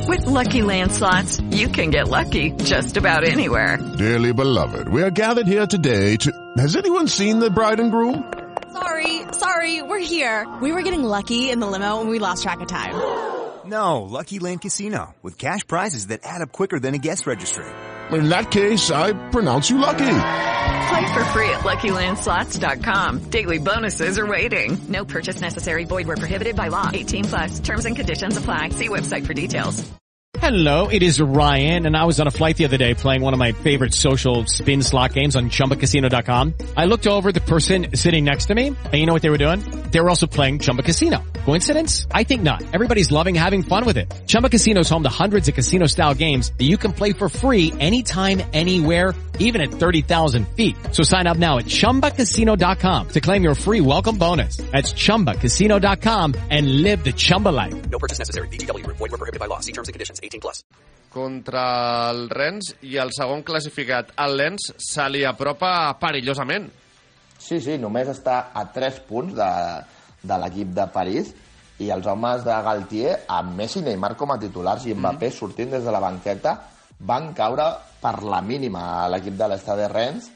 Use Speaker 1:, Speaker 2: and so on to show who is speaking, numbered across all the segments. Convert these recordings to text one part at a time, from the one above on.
Speaker 1: With Lucky Land Slots, you can get lucky just about anywhere.
Speaker 2: Dearly beloved, we are gathered here today to... Has anyone seen the bride and groom?
Speaker 3: Sorry, we're here. We were getting lucky in the limo and we lost track of time.
Speaker 4: No, Lucky Land Casino, with cash prizes that add up quicker than a guest registry.
Speaker 2: In that case, I pronounce you lucky.
Speaker 1: Play for free at LuckyLandSlots.com. Daily bonuses are waiting. No purchase necessary. Void where prohibited by law. 18+. Terms and conditions apply. See website for details.
Speaker 5: Hello, it is Ryan, and I was on a flight the other day playing one of my favorite social spin slot games on ChumbaCasino.com. I looked over at the person sitting next to me, and you know what they were doing? They were also playing Chumba Casino. Coincidence? I think not. Everybody's loving having fun with it. Chumba Casino is home to hundreds of casino-style games that you can play for free anytime, anywhere, even at 30,000 feet. So sign up now at ChumbaCasino.com to claim your free welcome bonus. That's ChumbaCasino.com and live the Chumba life.
Speaker 6: No purchase necessary. VGW. Void where prohibited by law. See terms and conditions. 18+.
Speaker 7: Contra el Rennes i el segon classificat, el Lens, se li apropa perillosament.
Speaker 8: Sí, només està a 3 punts de l'equip de París i els homes de Galtier, amb Messi i Neymar com a titulars i Mbappé sortint des de la banqueta, van caure per la mínima a l'equip de l'Estade Rennes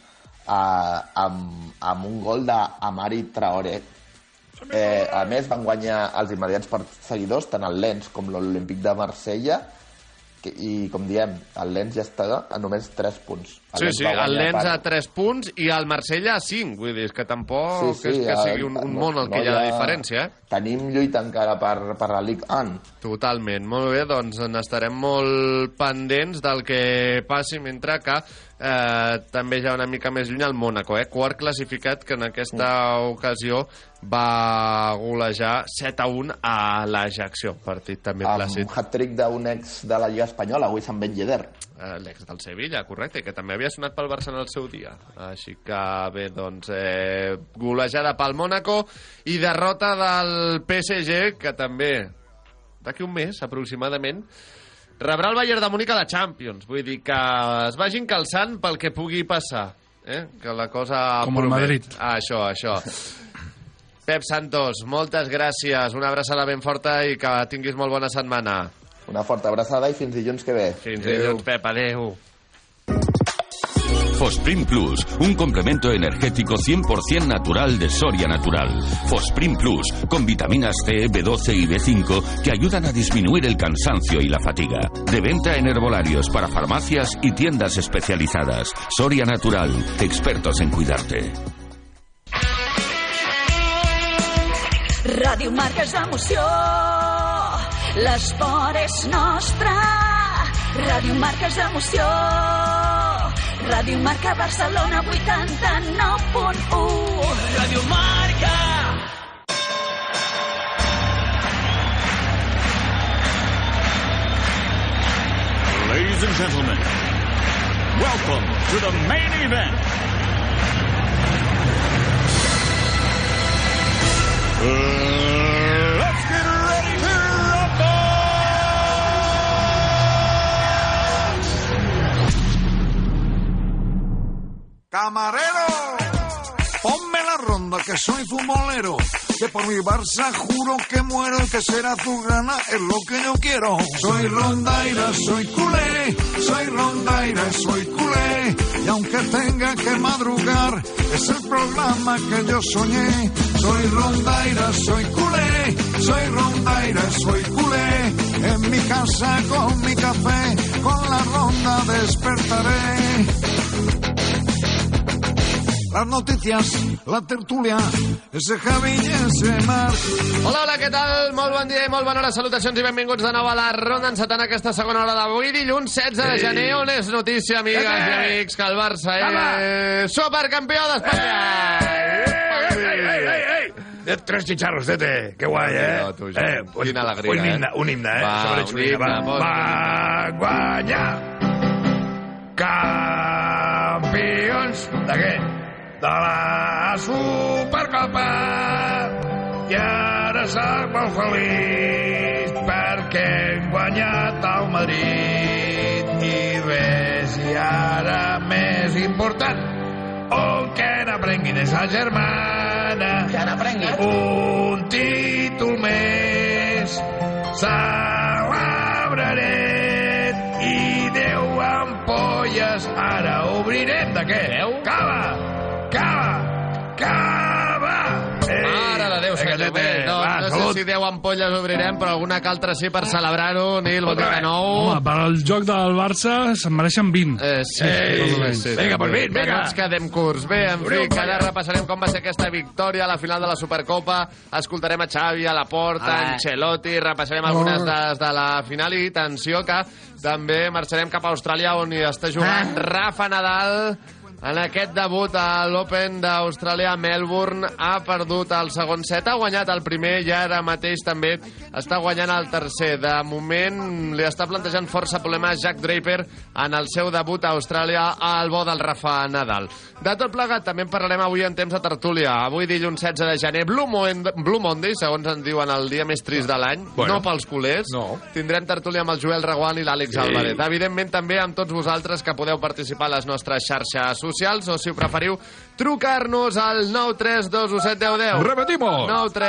Speaker 8: amb un gol d'Amari Traoré. A més, van guanyar els immediats perseguidors, tant el Lens com l'Olímpic de Marsella, i, com diem, el Lens ja està a només 3 punts.
Speaker 7: Sí, el Lens a 3 punts i el Marsella a 5. Vull dir, és que tampoc és que sigui un món el que hi ha de diferència.
Speaker 8: Tenim lluita encara per la Ligue 1.
Speaker 7: Totalment. Molt bé, doncs n'estarem molt pendents del que passi, mentre que també ja una mica més lluny el Mónaco, quart classificat, que en aquesta ocasió va golejar 7-1 a l'Ajaccio. Partit també plàcid.
Speaker 8: Amb hat-trick d'un ex de la Lliga Espanyola, Wissam Ben Yedder.
Speaker 7: L'ex del Sevilla, correcte, que també havia sonat pel Barça en el seu dia. Així que bé, doncs golejada pel Mónaco i derrota del PSG, que també d'aquí un mes aproximadament rebrà el Bayern de Múnich a la Champions. Vull dir que es vagin calçant pel que pugui passar, que la cosa
Speaker 9: com el Madrid.
Speaker 7: Això. Pep Santos, moltes gràcies, una abraçada ben forta i que tinguis molt bona setmana.
Speaker 8: Una forta abraçada i fins dilluns que ve.
Speaker 7: Fins dilluns, Pep, adeu.
Speaker 10: Fosprin Plus, un complemento energético 100% natural de Soria Natural. Fosprin Plus, con vitaminas C, B12 y B5 que ayudan a disminuir el cansancio y la fatiga. De venta en herbolarios para farmacias y tiendas especializadas. Soria Natural, expertos en cuidarte.
Speaker 11: Ràdio Marca és emoció, l'esport és nostre. Ràdio Marca és emoció, Ràdio Marca Barcelona 89.1. Ràdio Marca.
Speaker 12: Ladies and gentlemen, welcome to the main event. Let's get ready to rumble!
Speaker 13: Camarero, ponme la ronda que soy futbolero, que por mi Barça juro que muero, que será tu gana, es lo que yo quiero. Soy rondaira, soy culé, soy rondaira, soy culé, y aunque tenga que madrugar, es el programa que yo soñé. Soy rondaira, soy culé, soy rondaira, soy culé, en mi casa con mi café, con la ronda despertaré. Las noticias, la tertúlia, ese Javi i ese Marc.
Speaker 7: Hola, què tal? Molt bon dia i molt bona hora. Salutacions i benvinguts de nou a la ronda encetant aquesta segona hora d'avui, dilluns 16 de gener, on és notícia, amigues i amics, que el Barça és supercampió d'Espanya.
Speaker 9: Tres chicharros, Tete. Qué guay,
Speaker 7: Quina alegria,
Speaker 9: un himne,
Speaker 7: Va,
Speaker 9: un himne. Va guanyar. Campions de què? De la Supercopa. I ara soc molt feliç perquè hem guanyat el Madrid. I res, i ara més important, que n'aprengui de sa germana.
Speaker 8: Que n'aprengui.
Speaker 9: Un títol més celebraré. què? Cava!
Speaker 7: Mare de Déu, senyor. Bé, no sé si 10 ampolles obrirem, però alguna que altra sí per celebrar-ho. Nil, bon dia de nou.
Speaker 14: Home, per al joc del Barça se'n mereixen 20.
Speaker 7: Sí.
Speaker 9: Vinga, pues 20, vinga.
Speaker 7: No ens quedem curts. Bé, en fi, que ara repassarem com va ser aquesta victòria a la final de la Supercopa. Escoltarem a Xavi, a Laporta, a Ancelotti, repassarem algunes dades de la final i atenció que també marxarem cap a Austràlia on hi està jugant Rafa Nadal. En aquest debut a l'Open d'Austràlia, Melbourne ha perdut el segon set, ha guanyat el primer i ara mateix també està guanyant el tercer. De moment li està plantejant força problemes Jack Draper en el seu debut a Austràlia al bo del Rafa Nadal. De tot plegat, també en parlarem avui en temps de tertúlia. Avui dilluns 16 de gener, Blue Monday, segons en diuen el dia més trist de l'any, no pels culers. No. Tindrem tertúlia amb el Joel Reguant i l'Àlex Álvarez. Evidentment també amb tots vosaltres que podeu participar a les nostres xarxes socials o, si ho preferiu, trucar-nos al 932171010.
Speaker 9: Repetimos.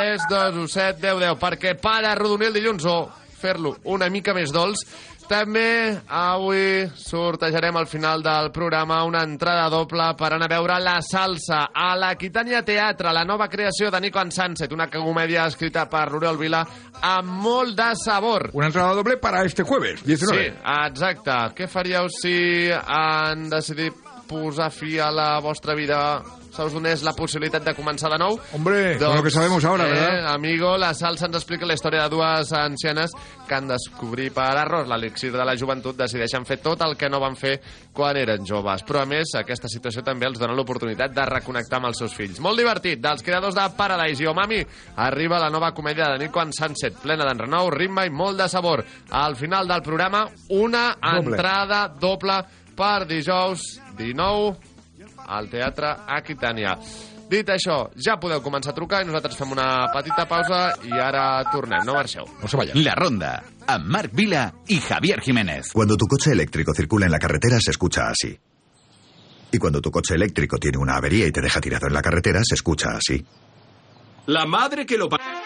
Speaker 7: 932171010, perquè per arrodonir el dilluns o fer-lo una mica més dolç, també avui sortejarem al final del programa una entrada doble per anar a veure La Salsa a l'Aquitània Teatre, la nova creació de Nico and Sunset, una comèdia escrita per l'Oriol Vila amb molt de sabor.
Speaker 9: Una entrada doble para este jueves, 19.
Speaker 7: Sí, exacte. Què faríeu si han decidit posar fi a la vostra vida, se us donés la possibilitat de començar de nou?
Speaker 9: Hombre, con lo que sabemos ahora, ¿verdad?
Speaker 7: Amigo, La Salsa ens explica la història de dues ancianes que han descobrir per errors l'elixir de la joventut, decideixen fer tot el que no van fer quan eren joves. Però, a més, aquesta situació també els dona l'oportunitat de reconnectar amb els seus fills. Molt divertit. Dels creadors de Paradise i Omami arriba la nova comèdia de Nico and Sunset, plena d'enrenou, ritme i molt de sabor. Al final del programa, una entrada doble per dijous 19 al Teatre Aquitània. Dit això, ja podeu començar a trucar i nosaltres fem una petita pausa i ara tornem. No marxeu.
Speaker 9: No se vayan.
Speaker 15: La Ronda, amb Marc Vila y Javier Jiménez.
Speaker 16: Cuando tu coche eléctrico circula en la carretera se escucha así. Y cuando tu coche eléctrico tiene una avería y te deja tirado en la carretera se escucha así.
Speaker 17: La madre que lo...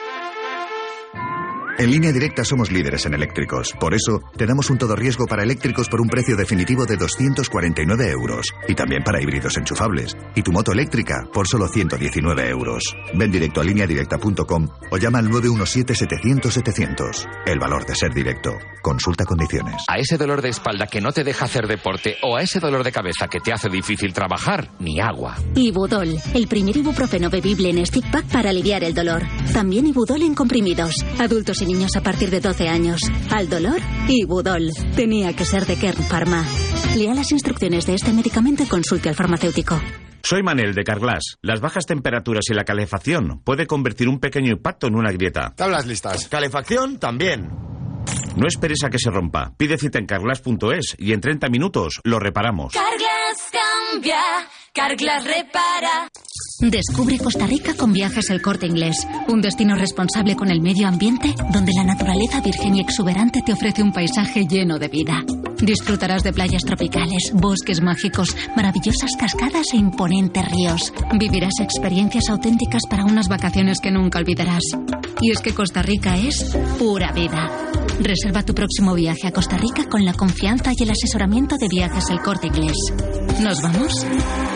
Speaker 16: En Línea Directa somos líderes en eléctricos. Por eso, te damos un todo riesgo para eléctricos por un precio definitivo de 249 euros. Y también para híbridos enchufables. Y tu moto eléctrica por solo 119 euros. Ven directo a lineadirecta.com o llama al 917-700-700. El valor de ser directo. Consulta condiciones.
Speaker 18: A ese dolor de espalda que no te deja hacer deporte o a ese dolor de cabeza que te hace difícil trabajar, ni agua.
Speaker 19: Ibudol, el primer ibuprofeno bebible en stick pack para aliviar el dolor. También Ibudol en comprimidos. Adultos y niños a partir de 12 años. Al dolor, Ibudol. Tenía que ser de Kern Pharma. Lea las instrucciones de este medicamento y consulte al farmacéutico.
Speaker 20: Soy Manel de Carglass. Las bajas temperaturas y la calefacción puede convertir un pequeño impacto en una grieta.
Speaker 21: Tablas listas. Calefacción también.
Speaker 20: No esperes a que se rompa. Pide cita en Carglass.es y en 30 minutos lo reparamos.
Speaker 11: Carglass cambia, Carglass repara.
Speaker 19: Descubre Costa Rica con Viajes El Corte Inglés, un destino responsable con el medio ambiente, donde la naturaleza virgen y exuberante te ofrece un paisaje lleno de vida. Disfrutarás de playas tropicales, bosques mágicos, maravillosas cascadas e imponentes ríos. Vivirás experiencias auténticas para unas vacaciones que nunca olvidarás. Y es que Costa Rica es pura vida. Reserva tu próximo viaje a Costa Rica con la confianza y el asesoramiento de Viajes El Corte Inglés. ¿Nos vamos?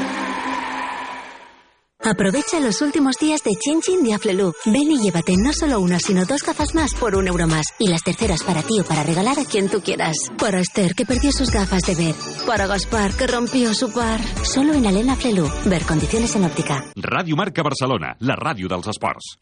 Speaker 22: Aprovecha los últimos días de Chin Chin de Aflelu. Ven y llévate no solo una, sino 2 gafas más por €1 más. Y las terceras para ti o para regalar a quien tú quieras. Para Esther, que perdió sus gafas de ver. Para Gaspar, que rompió su par. Solo en Alena Aflelu. Ver condiciones en óptica.
Speaker 12: Ràdio Marca Barcelona, la ràdio dels esports.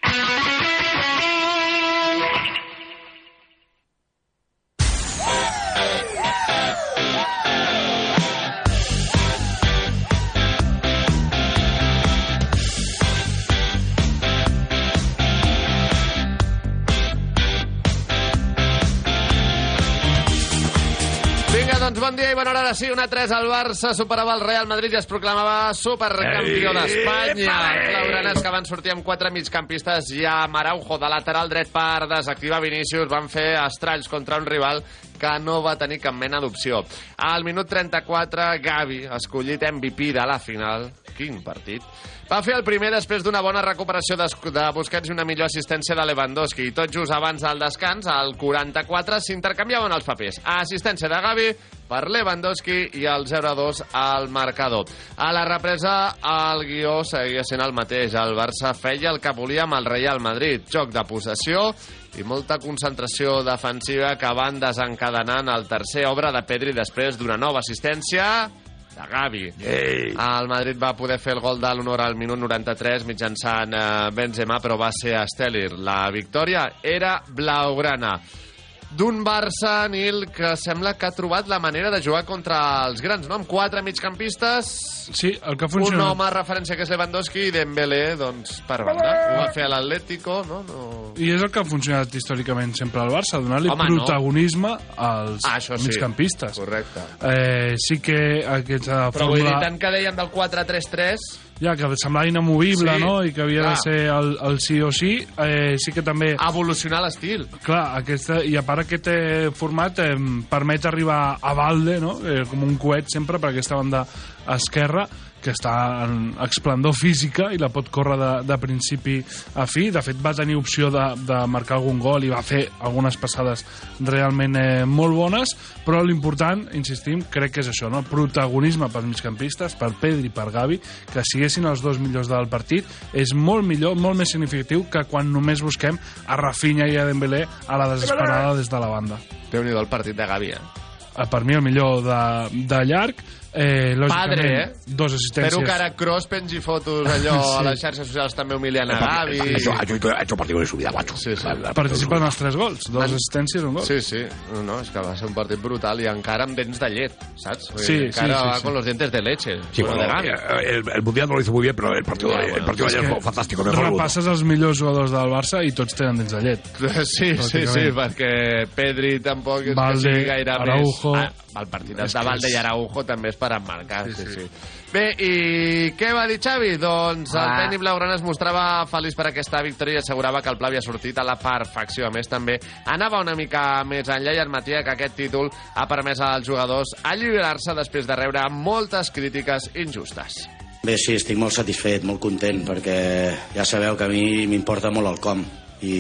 Speaker 7: Doncs bon dia i bona hora. Sí, 1-3 al Barça superava el Real Madrid i es proclamava supercampió d'Espanya. Blaugranes, que van sortir amb 4 migcampistes i amb Araujo de lateral dret per desactivar Vinícius, van fer estralls contra un rival que no va tenir cap mena d'opció. Al minut 34, Gavi, escollit MVP de la final, quin partit, va fer el primer després d'una bona recuperació de Busquets i una millor assistència de Lewandowski. I tot just abans del descans, al 44, s'intercanviaven els papers. Assistència de Gavi per Lewandowski i el 0-2 al marcador. A la represa, el guió seguia sent el mateix. El Barça feia el que volia amb el Real Madrid. Joc de possessió i molta concentració defensiva que van desencadenant el tercer obra de Pedri després d'una nova assistència de Gavi. El Madrid va poder fer el gol de l'honor al minut 93 mitjançant Benzema, però va ser Steller. La victòria era blaugrana. D'un Barça, Nil, que sembla que ha trobat la manera de jugar contra els grans, no? Amb 4 migcampistes,
Speaker 14: sí, el que funciona...
Speaker 7: un home a referència que és Lewandowski i Dembélé, doncs, per banda. Ho va fer a l'Atlético, no?
Speaker 14: I és el que ha funcionat històricament sempre al Barça, donar-li protagonisme als migcampistes.
Speaker 7: Correcte.
Speaker 14: Sí que aquesta
Speaker 7: però vull dir, tant que deien del 4-3-3...
Speaker 14: Ja, que semblava inamovible, sí, no? I que havia de ser el sí o sí. Sí que també...
Speaker 7: evolucionar l'estil.
Speaker 14: Clar, i a part aquest format permet arribar a Valde, no? Com un coet sempre per aquesta banda esquerra, que està en esplendor física i la pot córrer de principi a fi. De fet, va tenir opció de marcar algun gol i va fer algunes passades realment molt bones, però l'important, insistim, crec que és això, no? Protagonisme pels migcampistes, per Pedri i per Gavi, que siguessin els dos millors del partit, és molt millor, molt més significatiu que quan només busquem a Rafinha i a Dembélé a la desesperada des de la banda.
Speaker 7: Déu-n'hi-do el partit de Gavi,
Speaker 14: Per mi el millor de llarg. Lògicament,
Speaker 7: padre,
Speaker 14: dos assistències.
Speaker 7: Espero que ara Kroos pengi fotos allò a les xarxes socials també humiliant a Gavi.
Speaker 9: Ha hecho partido de su vida, macho.
Speaker 7: Sí.
Speaker 14: Participa en els 3 gols, 2 assistències i un gol.
Speaker 7: Sí. No, és que va ser un partit brutal i encara amb dents de llet, saps?
Speaker 14: Sí,
Speaker 7: encara va con los dientes de leche.
Speaker 9: Sí, bueno, el Mundial no lo hizo muy bien, pero el partido de ayer fue fantástico.
Speaker 14: Repasses els millors jugadors del Barça i tots tenen dents de llet.
Speaker 7: Sí, perquè Pedri tampoc és que sigui gaire
Speaker 14: Araujo.
Speaker 7: més... El partit de Valde i Araujo també és per emmarcar. Sí. Bé, i què va dir Xavi? Doncs el tècnic blaugrana es mostrava feliç per aquesta victòria i assegurava que el pla havia sortit a la perfecció. A més, també anava una mica més enllà i admetia que aquest títol ha permès als jugadors alliberar-se després de rebre moltes crítiques injustes.
Speaker 3: Bé, sí, estic molt satisfet, molt content, perquè ja sabeu que a mi m'importa molt el com.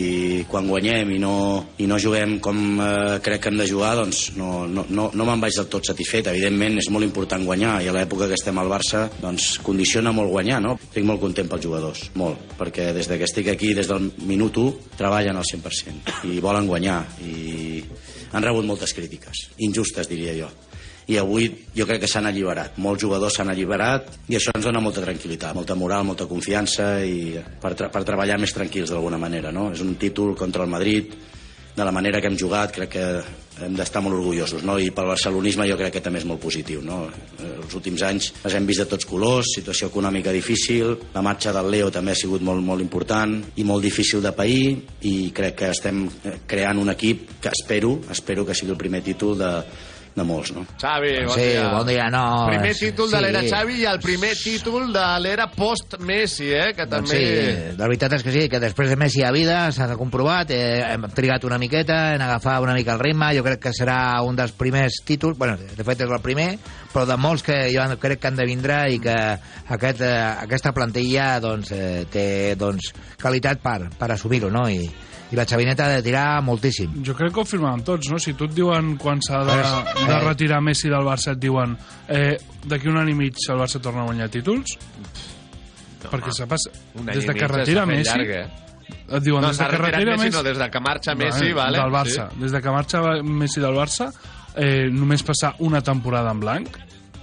Speaker 3: I quan guanyem i no juguem com crec que hem de jugar, doncs no me'n vaig del tot satisfet. Evidentment és molt important guanyar i a l'època que estem al Barça doncs condiciona molt guanyar, no? Estic molt content pels jugadors, molt, perquè des que estic aquí, des del minut 1, treballen al 100% i volen guanyar i han rebut moltes crítiques, injustes diria jo. I avui jo crec que s'han alliberat. Molts jugadors s'han alliberat i això ens dona molta tranquil·litat, molta moral, molta confiança i per treballar més tranquils d'alguna manera, no? És un títol contra el Madrid, de la manera que hem jugat, crec que hem d'estar molt orgullosos, no? I pel barcelonisme jo crec que també és molt positiu, no? Els últims anys les hem vist de tots colors, situació econòmica difícil, la marxa del Leo també ha sigut molt, molt important i molt difícil de pair i crec que estem creant un equip que espero que sigui el primer títol de molts, no?
Speaker 7: Xavi,
Speaker 4: bon dia. No,
Speaker 7: primer títol de l'era Xavi i el primer títol de l'era post-Messi, que també...
Speaker 4: Sí, la veritat és que sí, que després de Messi a vida s'ha comprovat, hem trigat una miqueta en agafar una mica el ritme, jo crec que serà un dels primers títols, bueno, de fet és el primer, però de molts que jo crec que han de vindre i que aquesta plantilla té qualitat per assumir-ho, no? I la Xavineta ha de tirar moltíssim.
Speaker 14: Jo crec que ho firmàvem tots, no? Si tu et diuen quan s'ha de retirar Messi del Barça, et diuen d'aquí un any i mig el Barça torna a guanyar títols, perquè des de que retira Messi et diuen des de que retira Messi
Speaker 7: no, des de que marxa Messi
Speaker 14: del Barça, des de que marxa Messi del Barça només passar una temporada en blanc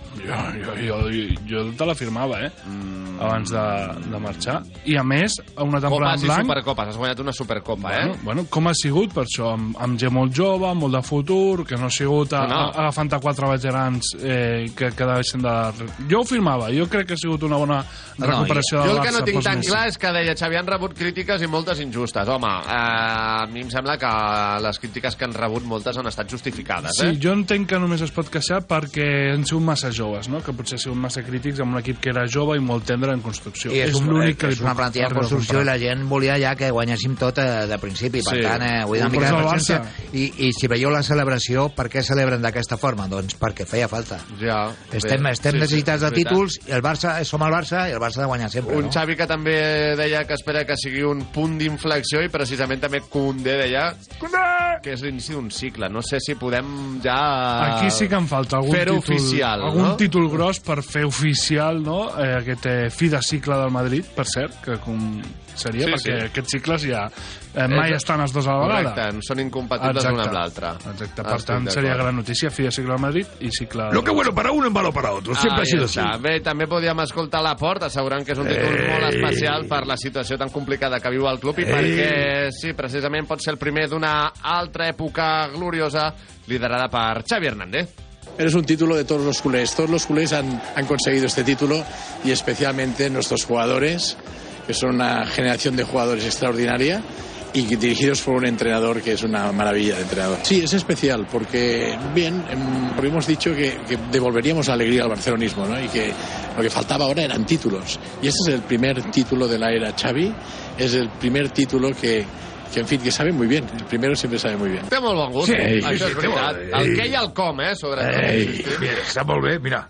Speaker 14: jo te la firmava abans de marxar, i a més una temporada en blanc.
Speaker 7: Copes i Supercopes, has guanyat una Supercopa,
Speaker 14: bueno, com ha sigut per això, amb gent molt jove, molt de futur, que no ha sigut agafant a 4 veterans que deixen de... Jo ho firmava, jo crec que ha sigut una bona recuperació del Barça.
Speaker 7: Jo el que no tinc tan clar és que deia Xavi, han rebut crítiques i moltes injustes. Home, a mi em sembla que les crítiques que han rebut moltes han estat justificades.
Speaker 14: Sí, jo entenc que només es pot queixar perquè han sigut massa joves, no? Que potser han sigut massa crítics amb un equip que era jove i molt tendre vendre en construcció.
Speaker 4: I és
Speaker 14: l'únic que
Speaker 4: és una plantilla en construcció i la gent volia ja que guanyéssim tot de principi. Per tant, vull dir una mica de paciència. I si veieu la celebració, per què celebren d'aquesta forma? Doncs perquè feia falta.
Speaker 7: Ja,
Speaker 4: estem necessitats de títols, i el Barça, som el Barça, i el Barça ha de guanyar sempre.
Speaker 7: Un Xavi que també deia que espera que sigui un punt d'inflexió, i precisament també Koundé deia que és l'inici d'un cicle. No sé si podem ja
Speaker 14: aquí sí que em falta algun títol gros per fer oficial, no? Aquest fi de cicle del Madrid, per cert, que seria, perquè aquests cicles ja mai estan els dos a la vegada.
Speaker 7: Correcte, són incompatibles l'un amb l'altre.
Speaker 14: Exacte, per tant seria gran notícia, fi de cicle del Madrid i cicle...
Speaker 9: Lo que bueno para uno es malo para otro, siempre ha sido así.
Speaker 7: Bé, també podíem escoltar Laporte assegurant que és un títol molt especial per la situació tan complicada que viu el club i perquè, sí, precisament pot ser el primer d'una altra època gloriosa liderada per Xavi Hernández.
Speaker 1: Es un título de todos los culés. Todos los culés han conseguido este título y especialmente nuestros jugadores, que son una generación de jugadores extraordinaria y dirigidos por un entrenador que es una maravilla de entrenador. Sí, es especial porque, porque hemos dicho que devolveríamos la alegría al barcelonismo, ¿no? Y que lo que faltaba ahora eran títulos. Y este es el primer título de la era Xavi, es el primer título que en fin, que sabe muy bien. El primero siempre sabe muy bien.
Speaker 7: Té molt bon gust, això és veritat. El què i el com, sobretot.
Speaker 9: Està molt bé, mira.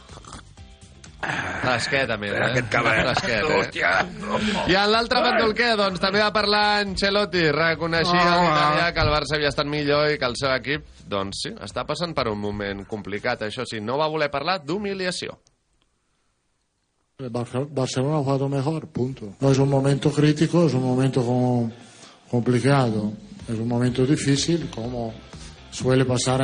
Speaker 7: Fresquet, a més,
Speaker 9: Aquest cavall.
Speaker 7: Fresquet, I en l'altre bàndol què? Doncs també va parlar Ancelotti. Reconeixia a l'italià que el Barça havia estat millor i que el seu equip, doncs sí, està passant per un moment complicat. Això sí, no va voler parlar d'humiliació.
Speaker 2: El Barcelona ha jugado mejor, punto. No es un momento crítico, es un momento complicado, es un momento difícil, como suele pasar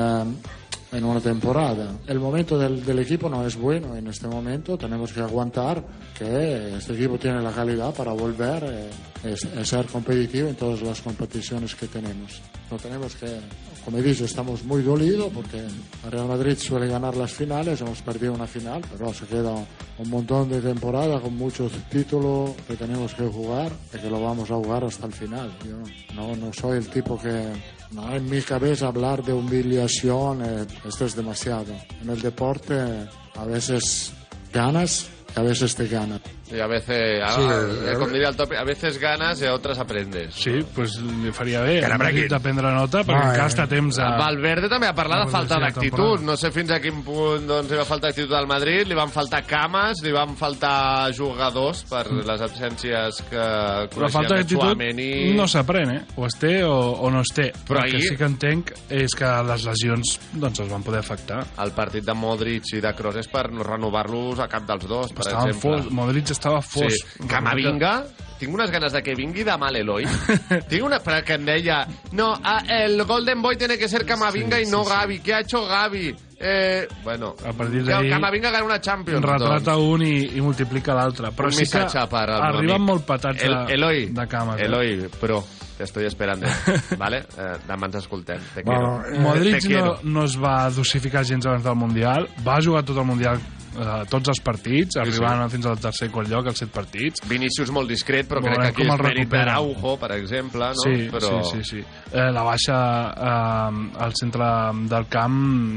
Speaker 2: en una temporada. El momento del equipo no es bueno en este momento, tenemos que aguantar que este equipo tiene la calidad para volver a ser competitivo en todas las competiciones que tenemos. No tenemos que, como he dicho, estamos muy dolidos porque el Real Madrid suele ganar las finales, hemos perdido una final, pero se queda un montón de temporada con muchos títulos que tenemos que jugar y que lo vamos a jugar hasta el final. Yo no soy el tipo que... No, en mi cabeza hablar de humillación, esto es demasiado. En el deporte a veces ganas y a veces te ganan.
Speaker 7: Y a veces, com diria el Topi, a veces ganas y a otras aprendes.
Speaker 14: Sí, pues li faria bé de prendre nota, perquè encara està temps a...
Speaker 7: Valverde també va parlar de falta d'actitud. No sé fins a quin punt li va faltar actitud al Madrid, li van faltar cames, li van faltar jugadors per les absències que coneixíem de Tchouaméni.
Speaker 14: No s'aprèn, o es té o no es té. Però el que sí que entenc és que les lesions doncs els van poder afectar.
Speaker 7: El partit de Modric i de Kroos és per no renovar-los a cap dels dos, per exemple.
Speaker 14: Modric estava fos.
Speaker 7: Sí. Camavinga, tinc unes ganes de que vingui demà l'Eloi. Tinc una... que em deia, no, el Golden Boy tiene que ser Camavinga y no Gavi. ¿Qué ha hecho Gavi? Bueno,
Speaker 14: a partir d'ahí
Speaker 7: Camavinga gana una Champions.
Speaker 14: Retrata un i multiplica l'altre. Però sí que arriben molt patats de cama.
Speaker 7: Eloi, però te estoy esperando, ¿vale? Demà ens escoltem. Te quiero.
Speaker 14: Modric no es va dosificar gens abans del Mundial. Va jugar tot el Mundial, tots els partits, arribant fins al tercer i quart lloc, als 7 partits.
Speaker 7: Vinícius molt discret, però crec que aquí és mèrit d'Araujo, per exemple, no?
Speaker 14: Sí,
Speaker 7: però...
Speaker 14: sí. La baixa al centre del camp,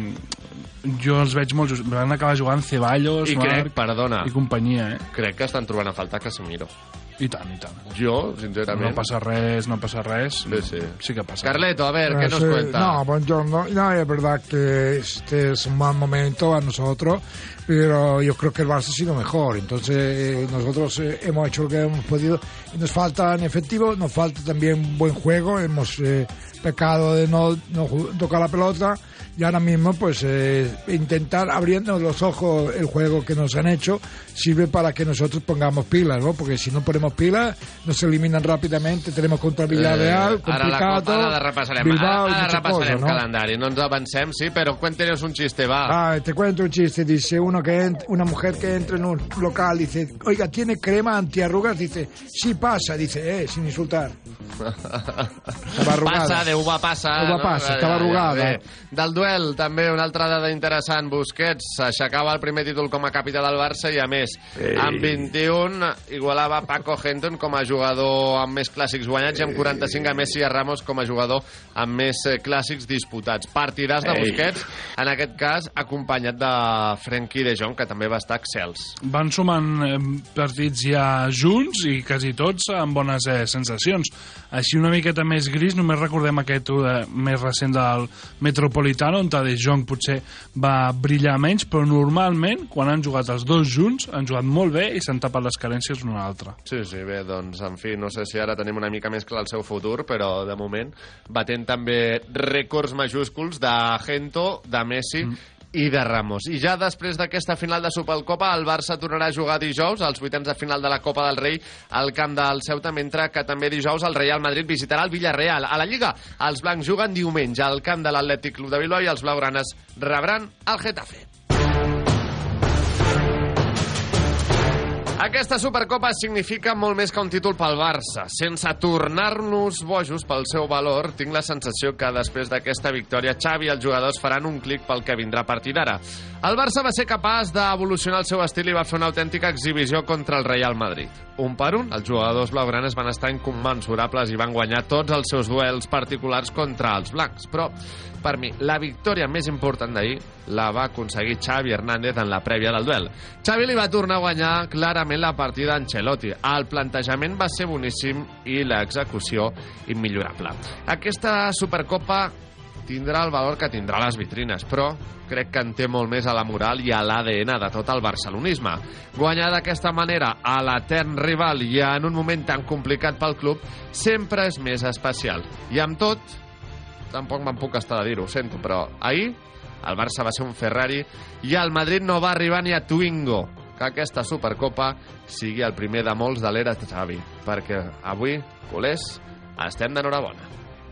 Speaker 14: jo els veig molt just. Van acabar jugant Ceballos, Marc i companyia,
Speaker 7: Crec que estan trobant a faltar Casemiro.
Speaker 14: I tant.
Speaker 7: Yo, sinceramente...
Speaker 14: No pasa res. Sí que pasa.
Speaker 7: Carleto, a ver, ¿qué nos cuenta?
Speaker 23: No, buongiorno. No, es verdad que este es un mal momento a nosotros, pero yo creo que el Barça ha sido mejor. Entonces, nosotros hemos hecho lo que hemos podido. Y nos falta en efectivo, nos falta también buen juego. Hemos pecado de no tocar la pelota. Y ahora mismo, pues, intentar abriendo los ojos el juego que nos han hecho sirve para que nosotros pongamos pilas, ¿no? Porque si no ponemos pilas, nos eliminan rápidamente. Tenemos contra Villarreal, complicado.
Speaker 7: Ara repassarem
Speaker 23: ¿no?
Speaker 7: calendari. No ens avancem, sí, pero cuéntenos un chiste, va.
Speaker 23: Te cuento un chiste. Dice una mujer que entra en un local, dice, oiga, ¿tiene crema antiarrugas? Dice, sí pasa. Dice, sin insultar.
Speaker 7: Passa, de uva passa.
Speaker 23: Uva passa, estava arrugada.
Speaker 7: Del duel duel, també una altra dada interessant. Busquets s'aixecava el primer títol com a capità del Barça i, a més, amb 21 igualava Paco Henton com a jugador amb més clàssics guanyats i amb 45 a Messi i a Ramos com a jugador amb més clàssics disputats. Partidàs de Busquets, en aquest cas acompanyat de Frenkie de Jong, que també va estar excels.
Speaker 14: Van sumant partits ja junts i quasi tots amb bones sensacions. Així una miqueta més gris, només recordem aquest més recent del Metropolitano, on De Jong potser va brillar menys, però normalment, quan han jugat els dos junts, han jugat molt bé i s'han tapat les carències un altre.
Speaker 7: Sí, bé, doncs, en fi, no sé si ara tenim una mica més clar el seu futur, però de moment batent també rècords majúsculs de Gento, de Messi i de Ramos. I ja després d'aquesta final de Supercopa, el Barça tornarà a jugar dijous, als vuitens de final de la Copa del Rei, al camp del Ceuta, mentre que també dijous el Real Madrid visitarà el Villarreal. A la Lliga, els blancs juguen diumenge al camp de l'Atlètic Club de Bilbao i els blaugranes rebran el Getafe. Aquesta Supercopa significa molt més que un títol pel Barça. Sense tornar-nos bojos pel seu valor, tinc la sensació que després d'aquesta victòria Xavi i els jugadors faran un clic pel que vindrà a partir d'ara. El Barça va ser capaç d'evolucionar el seu estil i va fer una autèntica exhibició contra el Real Madrid. Un per un, els jugadors blaugranes van estar incommensurables i van guanyar tots els seus duels particulars contra els blancs. Però, per mi, la victòria més important d'ahir la va aconseguir Xavi Hernández en la prèvia del duel. Xavi li va tornar a guanyar clarament la partida a Ancelotti. El plantejament va ser boníssim i l'execució immillorable. Aquesta Supercopa tindrà el valor que tindrà les vitrines, però crec que en té molt més a la moral i a l'ADN de tot el barcelonisme. Guanyar d'aquesta manera a l'etern rival i en un moment tan complicat pel club sempre és més especial. I amb tot, tampoc me'n puc estar de dir-ho, ho sento, però ahir el Barça va ser un Ferrari i el Madrid no va arribar ni a Twingo. Que aquesta Supercopa sigui el primer de molts de l'era Xavi, perquè avui, culers, estem d'enhorabona.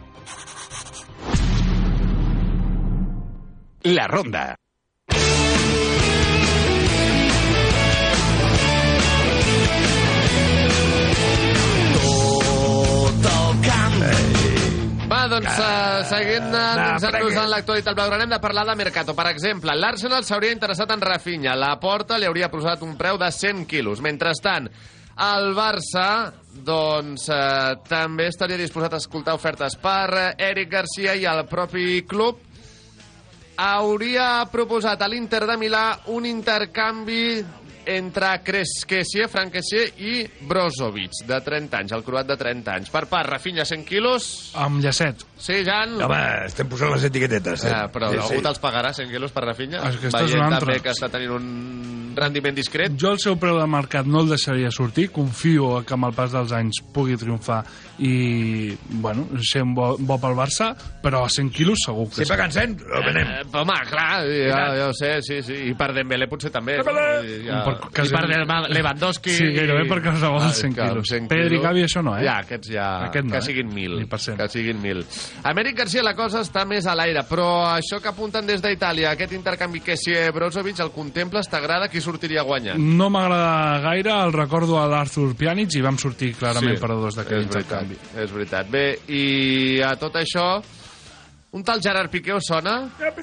Speaker 15: La Ronda.
Speaker 7: Va, doncs, seguint endinsant-nos en l'actualitat blaugrana, hem de parlar de Mercato. Per exemple, l'Arsenal s'hauria interessat en Rafinha. La Porta li hauria posat un preu de 100 quilos. Mentrestant, el Barça doncs, també estaria disposat a escoltar ofertes per Eric Garcia i el propi club hauria proposat a l'Inter de Milà un intercanvi entre Frank Kessie i Brozovic, de 30 anys, el croat de 30 anys. Per part, Rafinha, 100 quilos.
Speaker 14: Amb llacet.
Speaker 7: Sí, Jan?
Speaker 9: Home, estem posant les etiquetetes.
Speaker 7: Però algú te'ls pagarà 100 quilos per Rafinha?
Speaker 14: Veient
Speaker 7: també que està tenint un rendiment discret.
Speaker 14: Jo el seu preu de mercat no el deixaria sortir. Confio que amb el pas dels anys pugui triomfar i, bueno, ser un bo pel Barça, però a 100 quilos segur que
Speaker 9: sempre que en 100, el venem.
Speaker 7: Home, clar, ja ho sé, sí. I per Dembélé potser també. I per Lewandowski...
Speaker 14: Sí, gairebé per qualsevol 100 quilos. Pedri, Gavi, això no, eh?
Speaker 7: Ja, aquests ja... Que siguin 1.000. Que siguin 1.000. A Eric Garcia la cosa està més a l'aire, però això que apunten des d'Itàlia, aquest intercanvi Kessie-Brozovic, el contemples? T'agrada? Qui sortiria guanyant?
Speaker 14: No m'agrada gaire, el recordo a l'Arthur Pjanic i vam sortir clarament perdedors d'aquest intercanvi.
Speaker 7: És veritat. Bé, i a tot això, un tal Gerard Piqué us sona?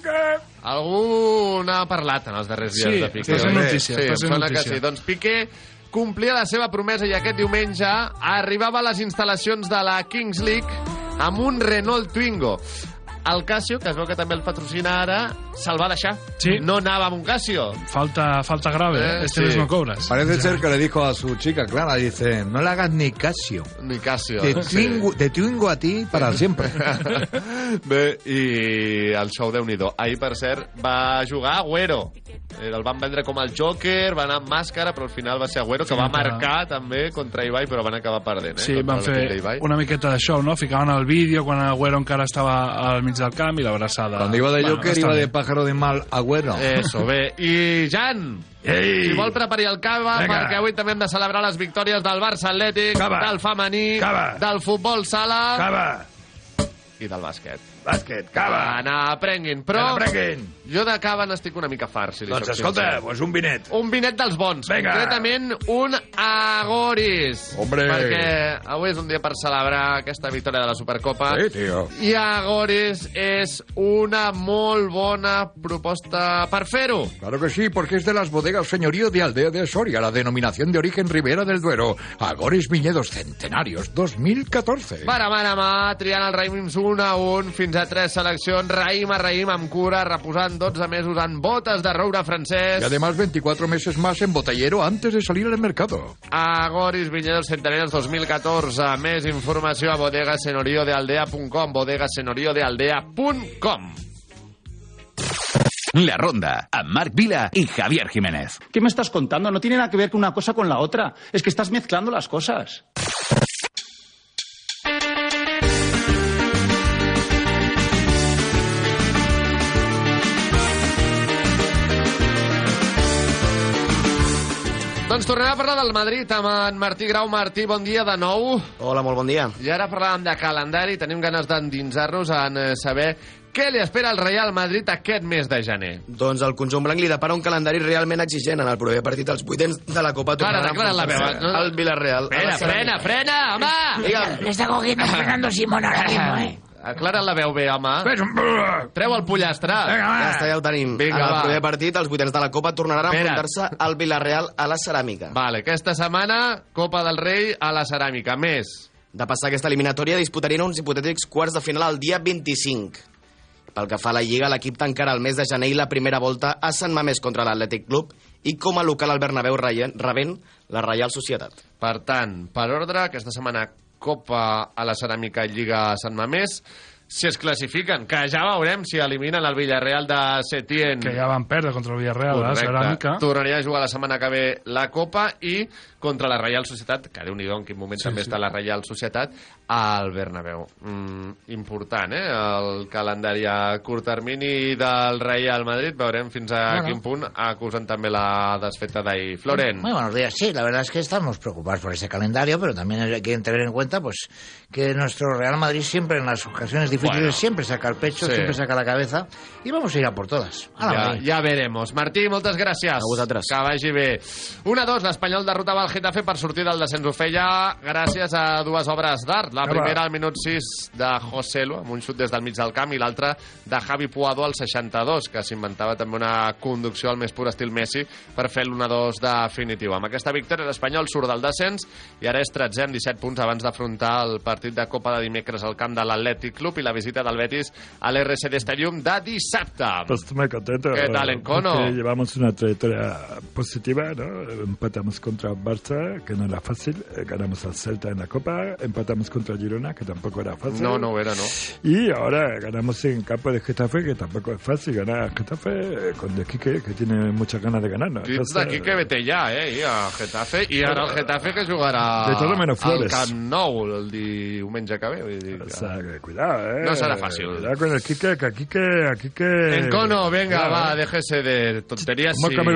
Speaker 7: Algú n'ha parlat en els darrers dies de Piqué.
Speaker 14: Sí, notícia.
Speaker 7: Sí, sona que sí. Doncs Piqué complia la seva promesa i aquest diumenge arribava a les instal·lacions de la Kings League amb un Renault Twingo. El Casio, que es veu que també el patrocina ara, se'l va deixar.
Speaker 14: Sí.
Speaker 7: No anava amb un Casio.
Speaker 14: Falta grave, este mes no cobras.
Speaker 5: Parece ser que le dijo a su chica Clara, dice, no le hagas ni Casio.
Speaker 7: Ni Casio.
Speaker 5: Te Twingo a ti para siempre.
Speaker 7: Bé, i el show Déu-n'hi-do. Ahir, per cert, va jugar Agüero. El van vendre com el Joker, va anar amb màscara, però al final va ser Agüero, que va marcar també contra Ibai, però van acabar perdent.
Speaker 14: Sí, van fer una miqueta de show, ¿no? Ficaven el vídeo quan Agüero encara estava al mig del camp i l'abraçada...
Speaker 5: Cuando iba de Joker, iba de pájaro de mal Agüero.
Speaker 7: Eso, bé. I Jan, si vol prepari el cava, perquè avui també hem de celebrar les victòries del Barça Atlètic, del femení, del futbol sala i del bàsquet.
Speaker 9: bàsquet, cava.
Speaker 7: N'aprenguin, però jo de cava n'estic una mica fart, si li
Speaker 9: Doncs
Speaker 7: soc
Speaker 9: escolta,
Speaker 7: sincer.
Speaker 9: pues un vinet.
Speaker 7: Un vinet dels bons,
Speaker 9: Vinga.
Speaker 7: concretament un Agoris.
Speaker 9: Hombre.
Speaker 7: Perquè avui és un dia per celebrar aquesta victòria de la Supercopa.
Speaker 9: Sí, tío.
Speaker 7: I Agoris és una molt bona proposta per fer-ho.
Speaker 9: Claro que sí, porque es de las bodegas Señorío de Aldea de Soria, la denominación de origen Ribera del Duero. Agoris Viñedos Centenarios 2014.
Speaker 7: Para mà a mà, triant els raïms 1 a 1, fins a 3 seleccions, raïm a raïm, amb cura, reposant 12 mesos en botes de roure francès.
Speaker 9: Y además 24 meses más en botellero antes de salir al mercado.
Speaker 7: Agoris Viñedos Centenarios 2014. Més informació a bodegasenoriodaldea.com, bodegasenoriodaldea.com.
Speaker 15: La Ronda, amb Marc Vila y Javier Jiménez.
Speaker 6: ¿Qué me estás contando? No tiene nada que ver una cosa con la otra. Es que estás mezclando las cosas.
Speaker 7: Doncs tornem a parlar del Madrid amb en Martí Grau. Martí, bon dia de nou.
Speaker 10: Hola, molt bon dia.
Speaker 7: I ara parlàvem de calendari, tenim ganes d'endinsar-nos en saber què li espera al Real Madrid aquest mes de gener.
Speaker 10: Doncs el conjunt blanc li depara un calendari realment exigent. En el proper partit els vuitens de la Copa tornaran
Speaker 7: la veu, no?
Speaker 10: al Villarreal.
Speaker 7: Frena, home!
Speaker 4: Le está cogiendo Fernando Simón ahora mismo,
Speaker 7: Aclara la veu bé, home. Treu el pollastre.
Speaker 10: Ja està, ja ho tenim.
Speaker 7: Vinga,
Speaker 10: en el
Speaker 7: va.
Speaker 10: proper partit, els vuitens de la Copa tornaran a enfrontar-se al Villarreal a la Ceràmica.
Speaker 7: Vale, aquesta setmana, Copa del Rei a la Ceràmica. Més.
Speaker 10: De passar aquesta eliminatòria, disputarien uns hipotètics quarts de final el dia 25. Pel que fa a la Lliga, l'equip tancarà el mes de gener i la primera volta a Sant Mamés contra l'Atlètic Club i com a local al Bernabéu rebent la Reial Societat.
Speaker 7: Per tant, per ordre, aquesta setmana Copa a la Ceràmica i Lliga a Sant Mamés, si es classifiquen, que ja veurem si eliminen el Villarreal de Setién.
Speaker 14: Que ja van perdre contra el Villarreal, la Ceràmica.
Speaker 7: Tornaria a jugar la setmana que ve la Copa i contra la Reial Societat, que Déu-n'hi-do en quin moment també està la Reial Societat, al Bernabéu. Important, el calendari a curt termini del Real Madrid. Veurem fins a quin punt acusen també la desfeta d'ahir. Florent.
Speaker 4: Muy buenos días. Sí, la verdad es que estamos preocupados por ese calendario, pero también hay que tener en cuenta pues que nuestro Real Madrid siempre en las ocasiones difíciles siempre saca el pecho, siempre saca la cabeza y vamos a ir a por todas.
Speaker 7: Ja veremos. Martí, moltes gràcies.
Speaker 10: A vosaltres.
Speaker 7: Que vagi bé. 1-2, l'Espanyol derrotava el Getafe per sortir del descens. Ho feia gràcies a dues obres d'art. La primera al minut 6 de Joselu, amb un xut des del mig del camp, i l'altra de Javi Puado al 62, que s'inventava també una conducció al més pur estil Messi per fer l'1-2 definitiu. Amb aquesta victòria l'Espanyol surt del descens i ara és 13è amb 17 punts abans d'afrontar el partit de Copa de dimecres al camp de l'Atlètic Club i la visita del Betis a l'RCD Stadium de dissabte.
Speaker 13: Pues estoy muy contento.
Speaker 7: ¿Qué tal, Encono?
Speaker 13: Porque llevamos una trayectoria positiva, ¿no? Empatamos contra Barça, que no era fácil, ganamos al Celta en la Copa, empatamos contra Girona, que tampoco era fácil.
Speaker 7: No era, no.
Speaker 13: Y ahora ganamos en campo de Getafe, que tampoco es fácil ganar a Getafe con De Quique, que tiene muchas ganas de ganar, ¿no?
Speaker 7: Crits de Quique vete ja, i a Getafe, i ara el Getafe que jugarà
Speaker 13: de todo menos Flores.
Speaker 7: al Camp Nou el diumenge que ve. Vull dir que...
Speaker 13: O sea, que cuidado,
Speaker 7: no serà fàcil.
Speaker 13: Cuidado con el Quique, que a Quique...
Speaker 7: Encono, venga, va, déjese de tonterías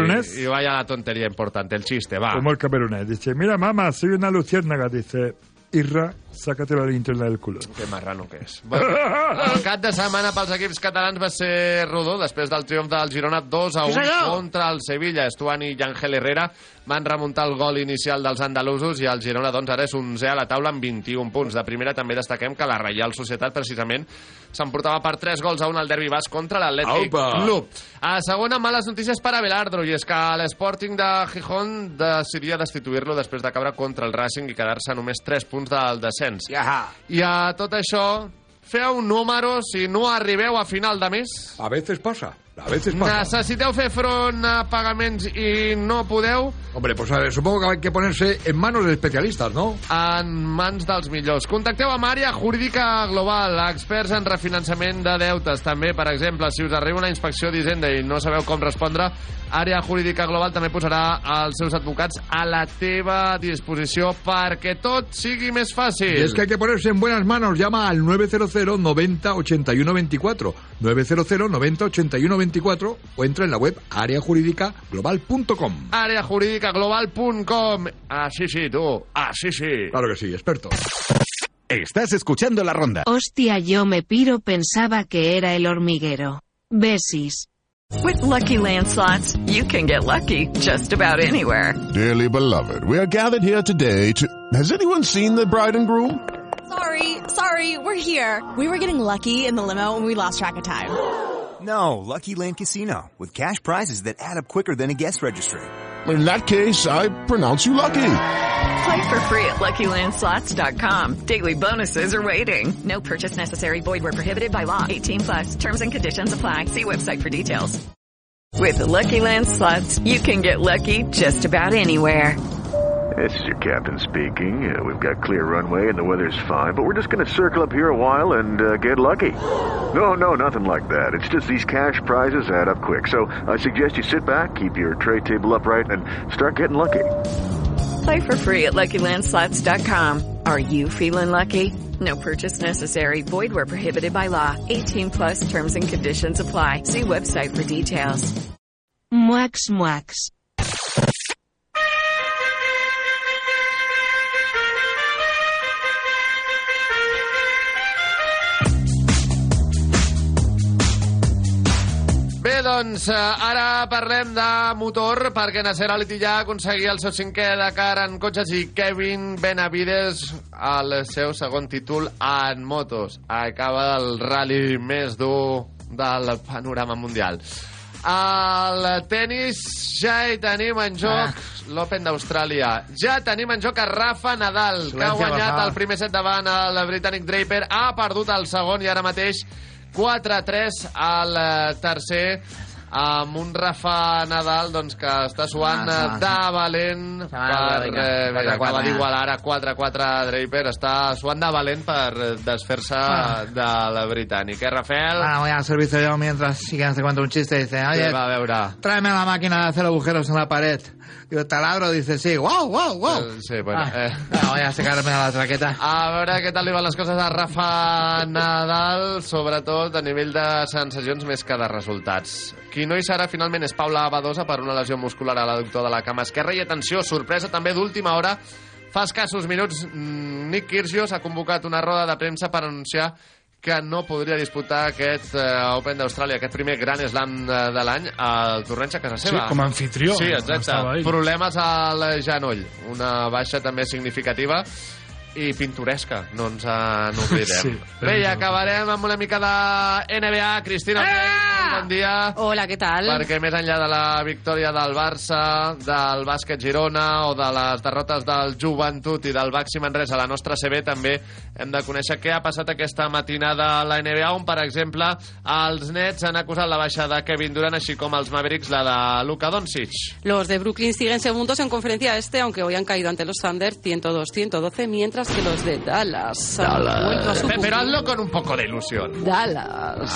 Speaker 13: y
Speaker 7: vaya la tontería importante, el chiste, va.
Speaker 13: Como el camerunés, dice, mira mamá, soy una luciérnaga, dice, Irra, sácate la linterna del culo.
Speaker 7: Que marrano que és. Bueno, el cap de setmana pels equips catalans va ser rodó després del triomf del Girona 2-1 contra el Sevilla. Estuani i Ángel Herrera van remuntar el gol inicial dels andalusos i el Girona doncs ara és 11è a la taula amb 21 punts. De primera també destaquem que la Reial Societat precisament s'emportava per 3-1 al derbi basc contra l'Atlètic Club. A segona, males notícies per a Belardro, i és que l'Sporting de Gijón decidia destituir-lo després de caure contra el Racing i quedar-se a només 3 punts del descens. I a tot això, feu números si no arribeu a final de mes.
Speaker 9: A veces pasa. A veces pasa.
Speaker 7: Necessiteu fer front a pagaments i no podeu?
Speaker 9: Hombre, pues a ver, supongo que hay que ponerse en manos de especialistas, ¿no?
Speaker 7: En mans dels millors. Contacteu amb Àrea Jurídica Global, experts en refinançament de deutes. També, per exemple, si us arriba una inspecció d'Hisenda i no sabeu com respondre, Àrea Jurídica Global també posarà els seus advocats a la teva disposició perquè tot sigui més fàcil.
Speaker 9: Y es que hay que ponerse en buenas manos. Llama al 900 90 81 24. 900 90 81 24 o entra en la web areajurídicaglobal.com.
Speaker 7: Areajurídicaglobal.com. Así sí, tú. Así sí.
Speaker 9: Claro que sí, experto.
Speaker 15: Estás escuchando La Ronda.
Speaker 8: Hostia, yo me piro, pensaba que era el hormiguero. Besis.
Speaker 16: With Lucky Land Slots, you can get lucky just about anywhere.
Speaker 17: Dearly beloved, we are gathered here today to... Has anyone seen the bride and groom?
Speaker 24: Sorry, we're here. We were getting lucky in the limo and we lost track of time.
Speaker 25: No, Lucky Land Casino, with cash prizes that add up quicker than a guest registry.
Speaker 17: In that case, I pronounce you lucky.
Speaker 16: Play for free at LuckyLandSlots.com. Daily bonuses are waiting. No purchase necessary. Void where prohibited by law. 18+. Terms and conditions apply. See website for details. With the Lucky Land Slots, you can get lucky just about anywhere.
Speaker 26: This is your captain speaking. We've got clear runway and the weather's fine, but we're just going to circle up here a while and get lucky. No, nothing like that. It's just these cash prizes add up quick. So I suggest you sit back, keep your tray table upright, and start getting lucky.
Speaker 16: Play for free at LuckyLandSlots.com. Are you feeling lucky? No purchase necessary. Void where prohibited by law. 18+. Terms and conditions apply. See website for details.
Speaker 8: Muax.
Speaker 7: Bé, doncs, ara parlem de motor, perquè Nasser Al-Attiyah aconseguia el seu 5è Dakar en cotxes i Kevin Benavides el seu segon títol en motos. Acaba el rally més dur del panorama mundial. Al tennis ja hi tenim en joc l'Open d'Austràlia. Ja tenim en joc a Rafa Nadal, que ha guanyat el primer set davant el britànic Draper, ha perdut el segon i ara mateix 4-3 al tercer, amb un Rafa Nadal doncs, que està suant de valent per acabar d'igualar ara 4-4 Draper. Està suant de valent per desfer-se del britànic, Rafael?
Speaker 4: Bueno, voy al servicio yo mientras siguen cuenta un chiste. Dice, oye, tráeme la máquina de hacer agujeros en la pared. Digo, taladro, dice, sí, wow.
Speaker 7: Sí, bueno.
Speaker 4: Voy a secarme la traqueta.
Speaker 7: A veure què tal li van les coses a Rafa Nadal, sobretot a nivell de sensacions més que de resultats. Qui no hi serà finalment és Paula Badosa per una lesió muscular a l'adductor de la cama esquerra i, atenció, sorpresa també d'última hora, fa escassos minuts Nick Kyrgios ha convocat una roda de premsa per anunciar que no podria disputar aquest Open d'Austràlia, aquest primer Grand Slam de l'any al torneig a casa seva.
Speaker 14: Sí, com a anfitrió.
Speaker 7: Sí, exacte. Problemes al genoll. Una baixa també significativa i pintoresca, no ens n'oblidem. Sí, bé, i acabarem amb una mica de NBA. Cristina, bon dia.
Speaker 27: Hola, què tal?
Speaker 7: Perquè més enllà de la victòria del Barça, del bàsquet Girona o de les derrotes del Joventut i del Baxi Manresa a la nostra CB, també hem de conèixer què ha passat aquesta matinada a la NBA, on, per exemple, els Nets han acusat la baixa de Kevin Durant, així com els Mavericks la de Luka Doncic.
Speaker 27: Los de Brooklyn siguen segundos en conferencia este, aunque hoy han caído ante los Thunder 102-112, mientras que los de Dallas han vuelto a sucumbir.
Speaker 7: Pero hazlo con un poco de ilusión.
Speaker 27: Dallas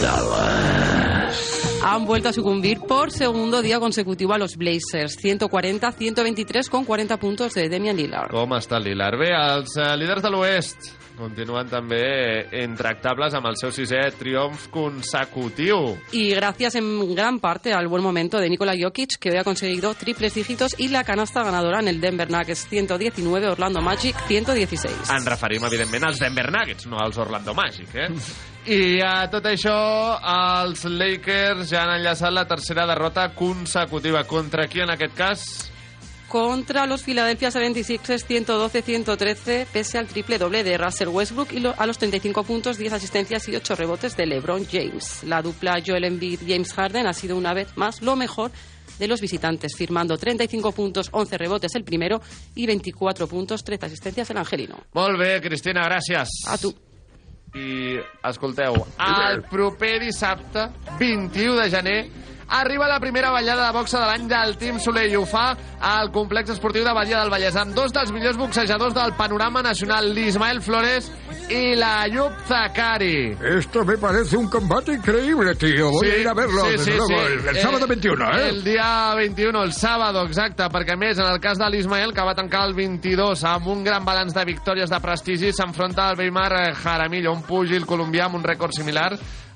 Speaker 27: han vuelto a sucumbir por segundo día consecutivo a los Blazers, 140-123 con 40 puntos de Damian Lillard.
Speaker 7: Com està el Lillard? Bé, els líders de l'Oest continuen també intractables amb el seu 6è triomf consecutiu.
Speaker 27: Y gracias en gran parte al buen momento de Nikola Jokic, que hoy ha conseguido triples dígitos y la canasta ganadora en el Denver Nuggets 119, Orlando Magic 116.
Speaker 7: Ens referim, evidentment, als Denver Nuggets, no als Orlando Magic, I a tot això, els Lakers ja han enllaçat la tercera derrota consecutiva. Contra qui, en aquest cas?
Speaker 27: Contra los Philadelphia 76ers 112-113, pese al triple doble de Russell Westbrook y a los 35 puntos, 10 asistencias y 8 rebotes de LeBron James. La dupla Joel Embiid-James Harden ha sido una vez más lo mejor de los visitantes, firmando 35 puntos, 11 rebotes el primero y 24 puntos, 13 asistencias el angelino.
Speaker 7: Molt bé, Cristina, gràcies.
Speaker 27: A tu.
Speaker 7: I escolteu, el proper dissabte, 21 de gener, arriba la primera ballada de boxa de l'any del Team Soler i ho fa al complex esportiu de Badia del Vallès amb dos dels millors boxejadors del panorama nacional, l'Ismael Flores y la Ayub Zakari.
Speaker 9: Esto me parece un combate increíble, tío. Voy a ir a verlo desde luego el sábado 21,
Speaker 7: El dia 21, el sábado, exacte, perquè a més, en el cas de l'Ismael, que va tancar el 22 amb un gran balanç de victòries de prestigi, s'enfronta al Weimar Jaramillo, un púgil colombià amb un rècord similar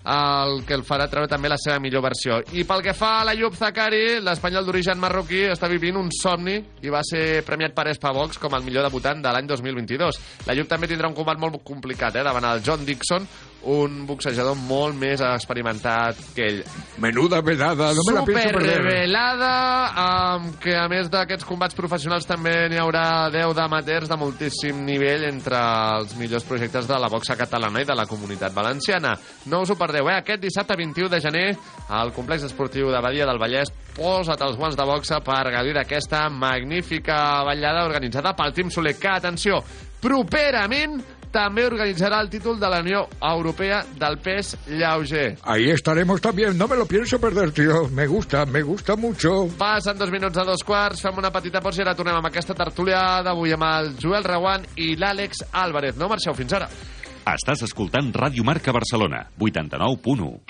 Speaker 7: el que el farà treure també la seva millor versió. I pel que fa a l'Ayub Zakari, l'espanyol d'origen marroquí està vivint un somni i va ser premiat per Espavox com el millor debutant de l'any 2022. L'Ayub també tindrà un combat molt complicat davant el John Dixon, un boxejador molt més experimentat que ell.
Speaker 9: Menuda velada, no me la pienso perder.
Speaker 7: Supervelada, que a més d'aquests combats professionals també n'hi haurà 10 d'amateurs de moltíssim nivell entre els millors projectes de la boxa catalana i de la comunitat valenciana. No us ho perdeu, aquest dissabte 21 de gener al complex esportiu de Badia del Vallès. Posa't els guants de boxa per gaudir d'aquesta magnífica ballada organitzada pel Team Soler, que, atenció, properament també organitzarà el títol de la Unió Europea del pes lleuger.
Speaker 9: Ahí estaremos también, no me lo pienso perder, tío. Me gusta mucho.
Speaker 7: Passen 2 minuts a 2:15, fem una petita pausa i ara tornem amb aquesta tertúlia d'avui amb el Joel Reguant i l'Àlex Álvarez. No marxeu fins ara.
Speaker 11: Estàs escoltant Ràdio Marca Barcelona, 89.1.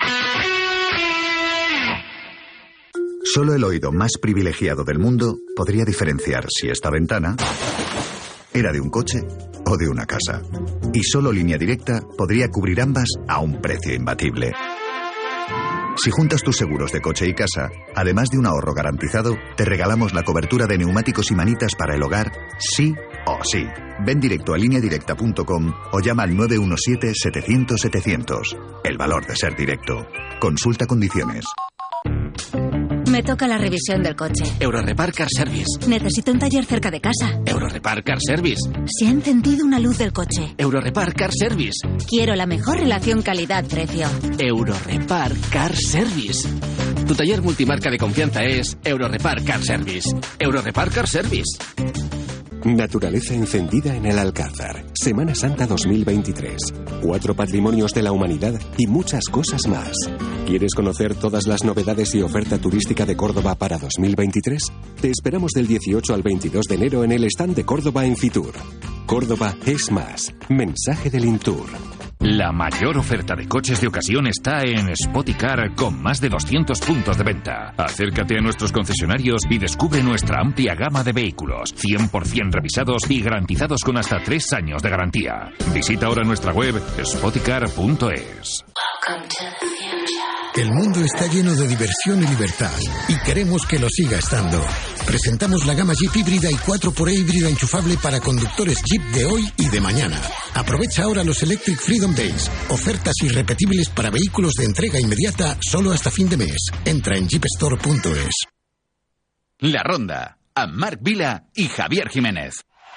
Speaker 12: Solo el oído más privilegiado del mundo podría diferenciar si esta ventana era de un coche o de una casa. Y solo Línea Directa podría cubrir ambas a un precio imbatible. Si juntas tus seguros de coche y casa, además de un ahorro garantizado, te regalamos la cobertura de neumáticos y manitas para el hogar, sí o sí. Ven directo a lineadirecta.com o llama al 917-700-700. El valor de ser directo. Consulta condiciones.
Speaker 18: Me toca la revisión del coche.
Speaker 19: Eurorepar Car Service.
Speaker 18: Necesito un taller cerca de casa.
Speaker 19: Eurorepar Car Service.
Speaker 18: Se ha encendido una luz del coche.
Speaker 19: Eurorepar Car Service.
Speaker 18: Quiero la mejor relación calidad-precio.
Speaker 19: Eurorepar Car Service. Tu taller multimarca de confianza es Eurorepar Car Service. Eurorepar Car Service.
Speaker 20: Naturaleza encendida en el Alcázar. Semana Santa 2023. 4 patrimonios de la humanidad y muchas cosas más. ¿Quieres conocer todas las novedades y oferta turística de Córdoba para 2023? Te esperamos del 18 al 22 de enero en el stand de Córdoba en Fitur. Córdoba es más. Mensaje del Intur.
Speaker 11: La mayor oferta de coches de ocasión está en Spoticar, con más de 200 puntos de venta. Acércate a nuestros concesionarios y descubre nuestra amplia gama de vehículos, 100% revisados y garantizados con hasta 3 años de garantía. Visita ahora nuestra web spoticar.es.
Speaker 21: El mundo está lleno de diversión y libertad, y queremos que lo siga estando. Presentamos la gama Jeep híbrida y 4xE híbrida enchufable para conductores Jeep de hoy y de mañana. Aprovecha ahora los Electric Freedom Days, ofertas irrepetibles para vehículos de entrega inmediata solo hasta fin de mes. Entra en jeepstore.es.
Speaker 15: La Ronda, amb Marc Vila i Javier Jiménez.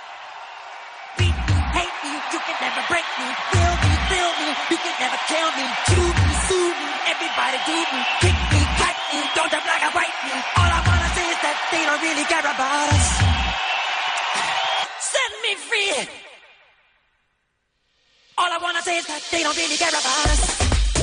Speaker 22: Everybody do me, kick me, fight me, don't jump like a white me. All I wanna say is that they don't really care about us. Set me free. All I wanna say is that they don't really care about us.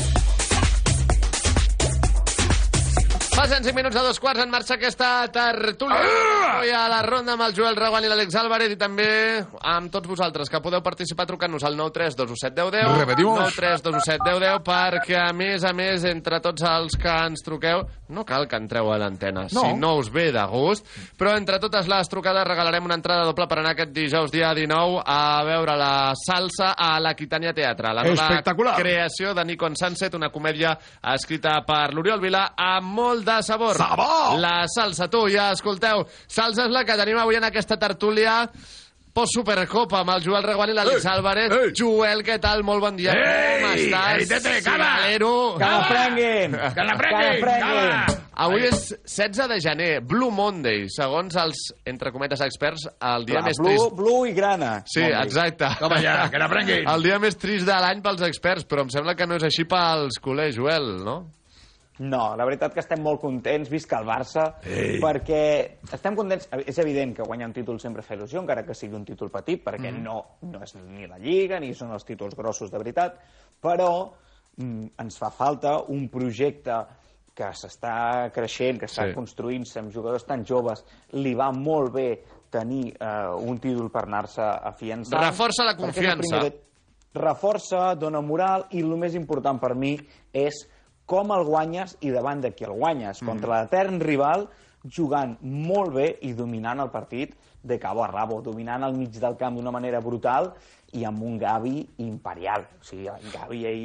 Speaker 7: Passen 5 minuts a 2:15, en marxa aquesta tertúlia. Avui a la ronda amb el Joel Reguant i l'Àlex Álvarez, i també amb tots vosaltres, que podeu participar trucant-nos al 932171010.
Speaker 9: Repetimos.
Speaker 7: 932171010, perquè a més, entre tots els que ens truqueu, no cal que entreu a l'antena,
Speaker 9: No.
Speaker 7: si no us ve de gust, però entre totes les trucades regalarem una entrada doble per anar aquest dijous, dia 19, a veure la salsa a l'Aquitània Teatre. La nova
Speaker 9: Espectacular.
Speaker 7: creació de Nico Sunset, una comèdia escrita per l'Oriol Vilà amb molt de sabor. La salsa, tu, ja escolteu. Salsa és la que tenim avui en aquesta tertúlia post-Supercopa amb el Joel Reguant i l'Àlex Álvarez. Joel, què tal? Molt bon dia. Com estàs?
Speaker 9: Tete, cama!
Speaker 7: Finalero.
Speaker 9: Que la prenguin! Que la prenguin! Cama!
Speaker 7: Avui és 16 de gener, Blue Monday, segons els, entre cometes, experts, el dia més trist.
Speaker 28: Blue i grana.
Speaker 7: Sí, exacte.
Speaker 9: Toma ja, que la prenguin!
Speaker 7: El dia més trist de l'any pels experts, però em sembla que no és així pels culers, Joel, no?
Speaker 28: No, la veritat que estem molt contents, visca el Barça, perquè estem contents. És evident que guanyar un títol sempre fa il·lusió, encara que sigui un títol petit, perquè no és ni la Lliga, ni són els títols grossos de veritat, però ens fa falta un projecte que s'està creixent, que està construint-se amb jugadors tan joves. Li va molt bé tenir un títol per anar-se afiançant.
Speaker 7: Reforça la confiança.
Speaker 28: Reforça, dona moral, i el més important per mi és com el guanyes i davant de qui el guanyes. Contra l'etern rival, jugant molt bé i dominant el partit de cabo a rabo, dominant al mig del camp d'una manera brutal i amb un Gavi imperial. O sigui, el Gavi ahir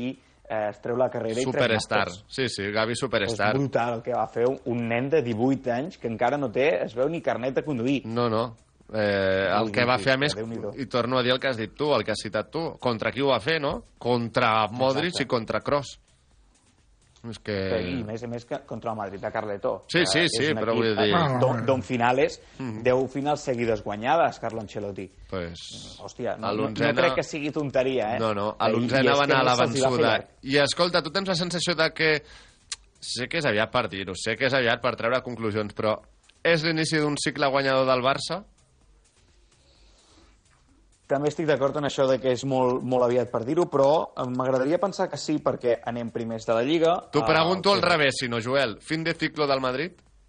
Speaker 28: es treu la carrera i
Speaker 7: Superstar, sí, Gavi Superstar.
Speaker 28: És brutal el que va fer un nen de 18 anys que encara no té, es veu, ni carnet de conduir.
Speaker 7: No. El que va fer, a més, i torno a dir el que has dit tu, el que has citat tu, contra qui ho va fer, no? Contra Modric i contra Kroos. És que...
Speaker 28: I més a més que contra el Madrid de Carletó.
Speaker 7: Sí, però vull dir...
Speaker 28: D'on finales, 10 finals seguides guanyades, Carlo Ancelotti. Hòstia, no crec que sigui tonteria, eh?
Speaker 7: No, a l'11 va anar a la vençuda. I escolta, tu tens la sensació de que... Sé que és aviat per dir-ho, sé que és aviat per treure conclusions, però és l'inici d'un cicle guanyador del Barça?
Speaker 28: També estic d'acord en això de que és molt aviat per dir-ho, però m'agradaria pensar que sí, perquè anem primers de la Lliga.
Speaker 7: T'ho pregunto al revés, si no, Joel. Fin de ciclo del Madrid?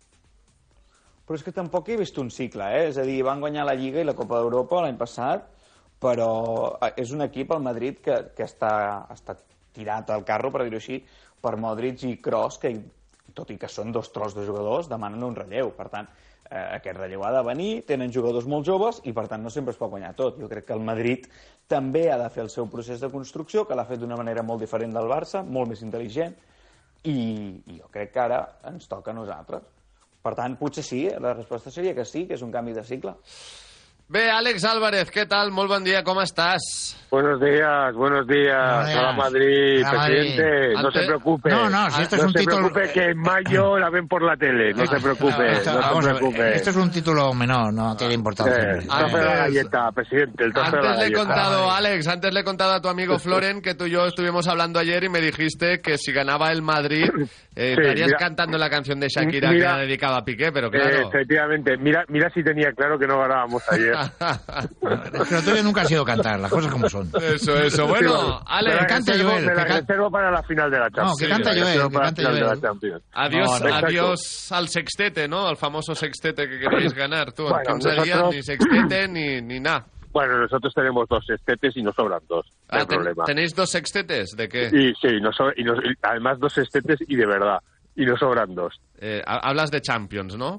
Speaker 28: Però és que tampoc he vist un cicle, eh? És a dir, van guanyar la Lliga i la Copa d'Europa l'any passat, però és un equip, el Madrid, que està tirat al carro, per dir-ho així, per Modric i Kroos, que, tot i que són dos tros de jugadors, demanen un relleu. Per tant, aquest relleu ha de venir, tenen jugadors molt joves i per tant no sempre es pot guanyar tot. Jo crec que el Madrid també ha de fer el seu procés de construcció, que l'ha fet d'una manera molt diferent del Barça, molt més intel·ligent, i jo crec que ara ens toca a nosaltres. Per tant, potser sí, la resposta seria que sí, que és un canvi de cicle.
Speaker 7: Bé, Àlex Álvarez, ¿qué tal? Muy buen día, ¿cómo estás?
Speaker 1: Buenos días. Hola Madrid, presidente. No se preocupe.
Speaker 4: No, si esto es un título...
Speaker 1: No se preocupe, que en mayo la ven por la tele. No se preocupe, no se preocupe.
Speaker 4: Esto es un título menor, no tiene importancia.
Speaker 1: El tope de la galleta, presidente, el tope de la galleta.
Speaker 7: Alex, antes le he contado a tu amigo Floren que tú y yo estuvimos hablando ayer y me dijiste que si ganaba el Madrid estarías cantando la canción de Shakira que ha dedicado a Piqué, pero claro...
Speaker 1: Efectivamente, mira si tenía claro que no ganábamos ayer.
Speaker 4: Pero tú nunca has ido a cantar, las cosas como son.
Speaker 7: Eso. Bueno, Alex,
Speaker 1: que cante Joel. Me la reservo para la final de la Champions.
Speaker 4: No, que canta Joel.
Speaker 7: Adiós al sextete, ¿no? Al famoso sextete que queréis ganar. Tú, bueno, en 15 días ni sextete ni nada.
Speaker 1: Bueno, nosotros tenemos 2 sextetes y nos sobran 2. No hay problema.
Speaker 7: ¿Tenéis 2 sextetes? ¿De qué?
Speaker 1: Sí, además 2 sextetes y de verdad. Y nos sobran 2.
Speaker 7: Hablas de Champions, ¿no?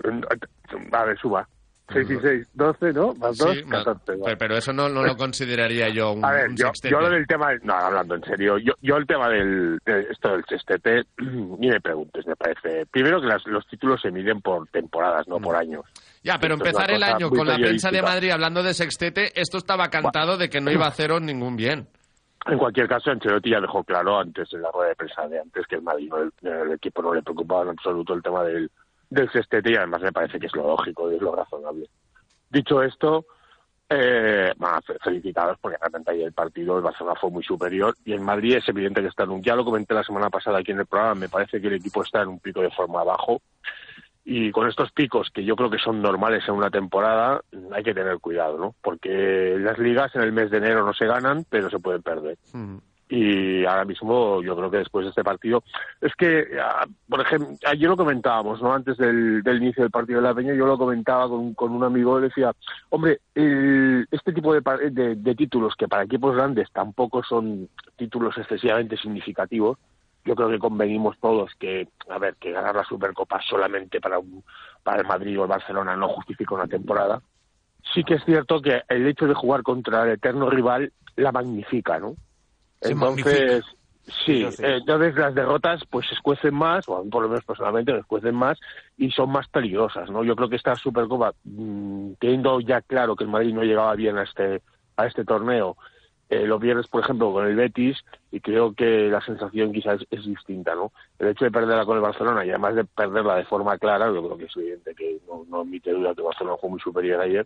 Speaker 1: A ver, suba. 6 y 6, 12, ¿no? Más 2, sí, 14.
Speaker 7: Pero eso no lo consideraría yo un sextete.
Speaker 1: Yo lo del tema... No, hablando en serio, yo el tema esto del sextete, ni me preguntes, me parece... Primero que los títulos se miden por temporadas, no por años.
Speaker 7: Ya, pero empezar el año con la prensa de Madrid hablando de sextete, esto estaba cantado de que no iba a haceros ningún bien.
Speaker 1: En cualquier caso, Ancelotti ya dejó claro antes en la rueda de prensa de antes que el Madrid, el equipo no le preocupaba en absoluto el tema del sextete, y además me parece que es lo lógico y es lo razonable. Dicho esto, felicitados porque realmente ayer el partido, el Barcelona fue muy superior y el Madrid es evidente que está ya lo comenté la semana pasada aquí en el programa, me parece que el equipo está en un pico de forma bajo y con estos picos que yo creo que son normales en una temporada hay que tener cuidado, ¿no? Porque las ligas en el mes de enero no se ganan, pero se pueden perder. Y ahora mismo yo creo que después de este partido es que, por ejemplo, ayer lo comentábamos, ¿no? Antes del inicio del partido de la Peña, yo lo comentaba con un amigo y decía, hombre, este tipo de títulos que para equipos grandes tampoco son títulos excesivamente significativos, yo creo que convenimos todos que ganar la Supercopa solamente para el Madrid o el Barcelona no justifica una temporada. Sí que es cierto que el hecho de jugar contra el eterno rival la magnifica, ¿no? Entonces, entonces las derrotas pues se escuecen más, o por lo menos personalmente se escuecen más y son más peligrosas, ¿no? Yo creo que esta Supercopa, teniendo ya claro que el Madrid no llegaba bien a este torneo, lo pierdes, por ejemplo, con el Betis y creo que la sensación quizás es distinta, ¿no? El hecho de perderla con el Barcelona y además de perderla de forma clara, yo creo que es evidente que no admite duda que el Barcelona fue muy superior ayer,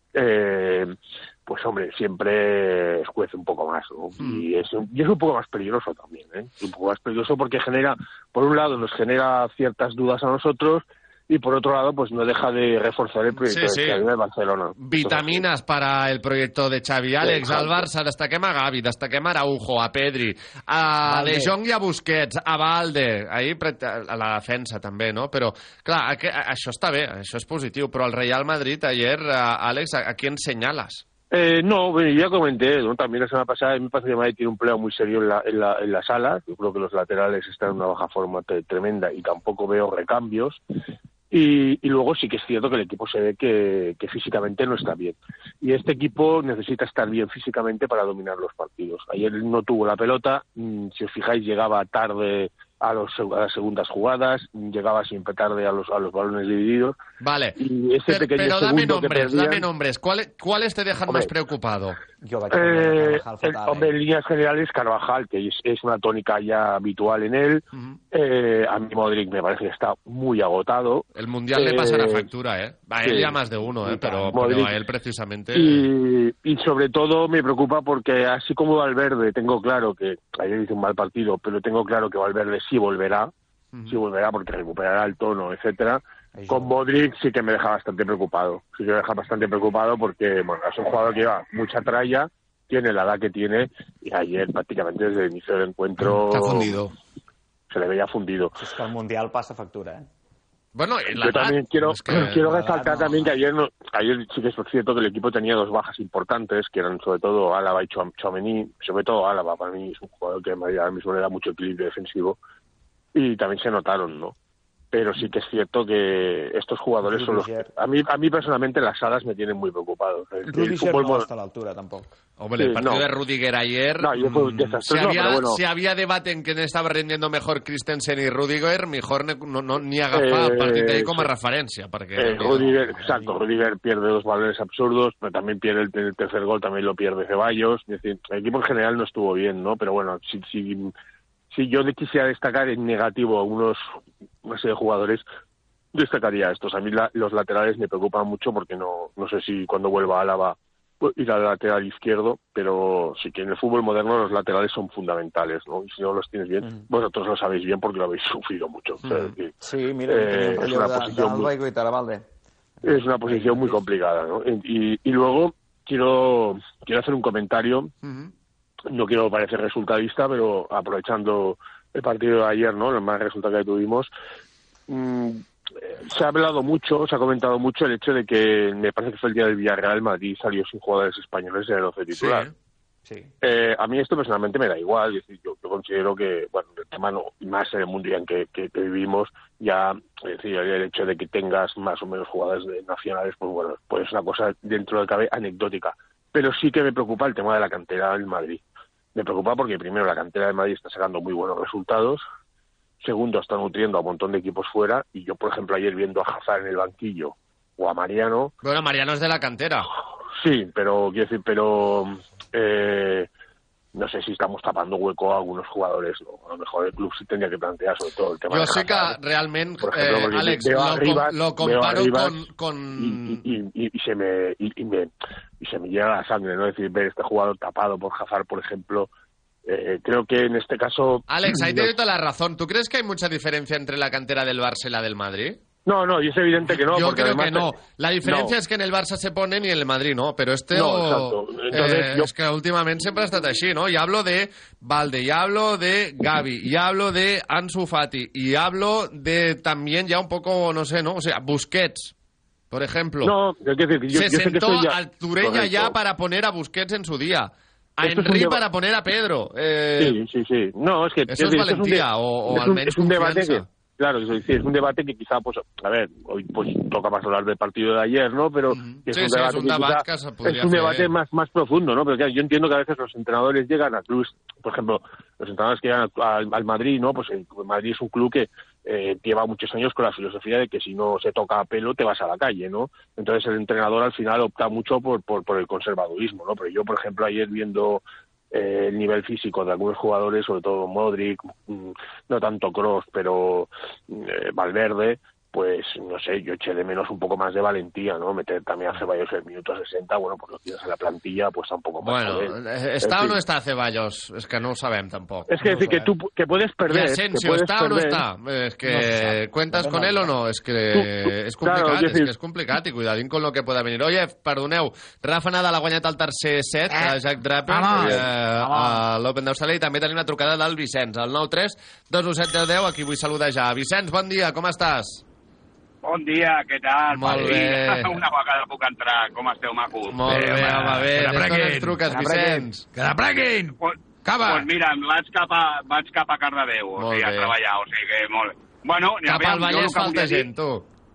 Speaker 1: pues hombre, siempre escuece un poco más, ¿no? Y es un poco más peligroso también, ¿eh? Es un poco más peligroso porque por un lado nos genera ciertas dudas a nosotros y por otro lado pues no deja de reforzar el proyecto de Xavi de Barcelona.
Speaker 7: Vitaminas para el proyecto de Xavi. Àlex, al Barça destaquem a Gavi, destaquem a Araujo, a Pedri, a De Jong i a Busquets, a Valde, ahir a la defensa també, no? Però, clar, això està bé, això és positiu, però el Real Madrid ayer, Àlex, ¿a quién señalas?
Speaker 1: No, ya comenté, ¿no? También la semana pasada, me parece que Madrid tiene un pleno muy serio en las alas. Yo creo que los laterales están en una baja forma tremenda y tampoco veo recambios. Y luego sí que es cierto que el equipo se ve que físicamente no está bien. Y este equipo necesita estar bien físicamente para dominar los partidos. Ayer no tuvo la pelota, si os fijáis llegaba tarde a las segundas jugadas, llegaba siempre tarde a los balones divididos.
Speaker 7: Vale,
Speaker 1: y ese
Speaker 7: pero dame nombres. ¿Cuáles te dejan más preocupado?
Speaker 1: Hombre, en líneas generales, Carvajal, que es una tónica ya habitual en él. A mí Modric me parece que está muy agotado.
Speaker 7: El Mundial le pasará factura, ¿eh? A él ya más de uno, pero a él precisamente...
Speaker 1: Y sobre todo me preocupa porque así como Valverde, tengo claro que ayer hizo un mal partido, pero tengo claro que Valverde sí volverá porque recuperará el tono, etcétera. Con Modric sí que me deja bastante preocupado. Sí que me deja bastante preocupado porque, bueno, es un jugador que lleva mucha tralla, tiene la edad que tiene, y ayer prácticamente desde el inicio del encuentro...
Speaker 4: Está fundido.
Speaker 1: Se le veía fundido.
Speaker 28: Es que el Mundial pasa factura, ¿eh?
Speaker 7: Bueno,
Speaker 1: yo también quiero resaltar también que ayer sí que es cierto que el equipo tenía dos bajas importantes, que eran sobre todo Álava y Tchouaméni. Sobre todo Álava, para mí es un jugador que ahora mismo le da mucho equilibrio defensivo, y también se notaron, ¿no? Pero sí que es cierto que estos jugadores son los... A mí personalmente las alas me tienen muy preocupado.
Speaker 28: Rudiger no está a la altura tampoco.
Speaker 7: Hombre, el partido de Rudiger ayer...
Speaker 1: fue desastroso,
Speaker 7: si había debate en quién estaba rindiendo mejor Christensen y Rudiger, mejor ni agafar el partido ahí como referencia.
Speaker 1: Rudiger pierde dos balones absurdos, pero también pierde el tercer gol, también lo pierde Ceballos. Es decir, el equipo en general no estuvo bien, ¿no? Pero bueno, si yo quisiera destacar en negativo a una serie de jugadores, destacaría a estos. A mí los laterales me preocupan mucho porque no sé si cuando vuelva Álava ir al lateral izquierdo, pero sí que en el fútbol moderno los laterales son fundamentales, ¿no? Y si no los tienes bien, vosotros lo sabéis bien porque lo habéis sufrido mucho. O sea,
Speaker 28: sí, mira, es una
Speaker 1: posición muy complicada, ¿no? Y luego quiero hacer un comentario. No quiero parecer resultadista, pero aprovechando el partido de ayer, ¿no? El mal resultado que tuvimos, se ha hablado mucho, se ha comentado mucho el hecho de que me parece que fue el día del Villarreal, Madrid salió sin jugadores españoles en el 11 titular.
Speaker 28: Sí.
Speaker 1: A mí esto personalmente me da igual, es decir, yo considero que, bueno, el tema no, más en el mundo en que vivimos, ya, es decir, el hecho de que tengas más o menos jugadores nacionales, pues bueno, pues es una cosa dentro de cabe anecdótica. Pero sí que me preocupa el tema de la cantera del Madrid. Me preocupa porque, primero, la cantera de Madrid está sacando muy buenos resultados. Segundo, está nutriendo a un montón de equipos fuera. Y yo, por ejemplo, ayer viendo a Hazard en el banquillo o a Mariano...
Speaker 7: Bueno, Mariano es de la cantera.
Speaker 1: Sí, pero no sé si estamos tapando hueco a algunos jugadores, ¿no? A lo mejor el club sí tendría que plantear sobre todo el tema
Speaker 7: de sí que realment, por ejemplo, Àlex, lo comparo con...
Speaker 1: Y se me llega la sangre, ¿no? Es decir, ver este jugador tapado por Hazard, por ejemplo, creo que en este caso...
Speaker 7: Àlex, ahí te doy toda la razón. ¿Tú crees que hay mucha diferencia entre la cantera del Barça y la del Madrid?
Speaker 1: No, y es evidente que no.
Speaker 7: Yo creo que no. La diferència és que en el Barça se ponen y en el Madrid no, pero
Speaker 1: exacto. Entonces,
Speaker 7: es que últimamente siempre ha estat així, ¿no? Y hablo de Valde, y hablo de Gavi, y hablo de Ansu Fati, y hablo de también ya un poco, no sé, ¿no? O sea, Busquets, por ejemplo.
Speaker 1: No, es decir, yo
Speaker 7: se sentó a Turella ya para poner a Busquets en su día. A Henry para poner a Pedro.
Speaker 1: Sí. No, es que...
Speaker 7: Eso es valentía, o almenys confiança.
Speaker 1: Claro, es un debate que quizá, pues, a ver, hoy pues toca más hablar del partido de ayer, ¿no? Pero es un debate más profundo, ¿no? Pero claro, yo entiendo que a veces los entrenadores llegan a clubes, por ejemplo, los entrenadores que llegan al Madrid, ¿no? Pues el Madrid es un club que lleva muchos años con la filosofía de que si no se toca a pelo te vas a la calle, ¿no? Entonces el entrenador al final opta mucho por el conservadurismo, ¿no? Pero yo, por ejemplo, ayer viendo el nivel físico de algunos jugadores, sobre todo Modric, no tanto Kroos, pero Valverde, pues no sé, yo eché de menos un poco más de valentía, ¿no? Meter también a Ceballos en el minuto 60, bueno, pues lo tienes en la plantilla, pues tampoco más.
Speaker 7: Bueno, ¿está o no está Ceballos? Es que no ho sabem tampoc.
Speaker 1: Es que
Speaker 7: no
Speaker 1: decir que tú que puedes perder.
Speaker 7: ¿Y Asensio está o no está? Es que ¿cuentas con él o no? Es que és complicat, claro, és complicat, i cuidadín con lo que pueda venir. Oye, perdoneu, Rafa Nadal ha guanyat el tercer set a Jack Draper a l'Open d'Austràlia, i també tenim la trucada del Vicenç, al 9-3-2-1-7-10-10, aquí vull saludar. Vicenç, bon dia, com estàs?
Speaker 2: Bon dia, què tal?
Speaker 7: Molt bé.
Speaker 2: Una vegada puc entrar. Com esteu, macos?
Speaker 7: Molt bé, home, bé. Des d'on ens truques, Vicenç?
Speaker 9: Que la pleguin! Cava!
Speaker 2: Doncs mira, vaig cap a Cardedeu, o sigui, a treballar, o sigui que molt... Bueno,
Speaker 7: cap al Vallès falta gent, tu.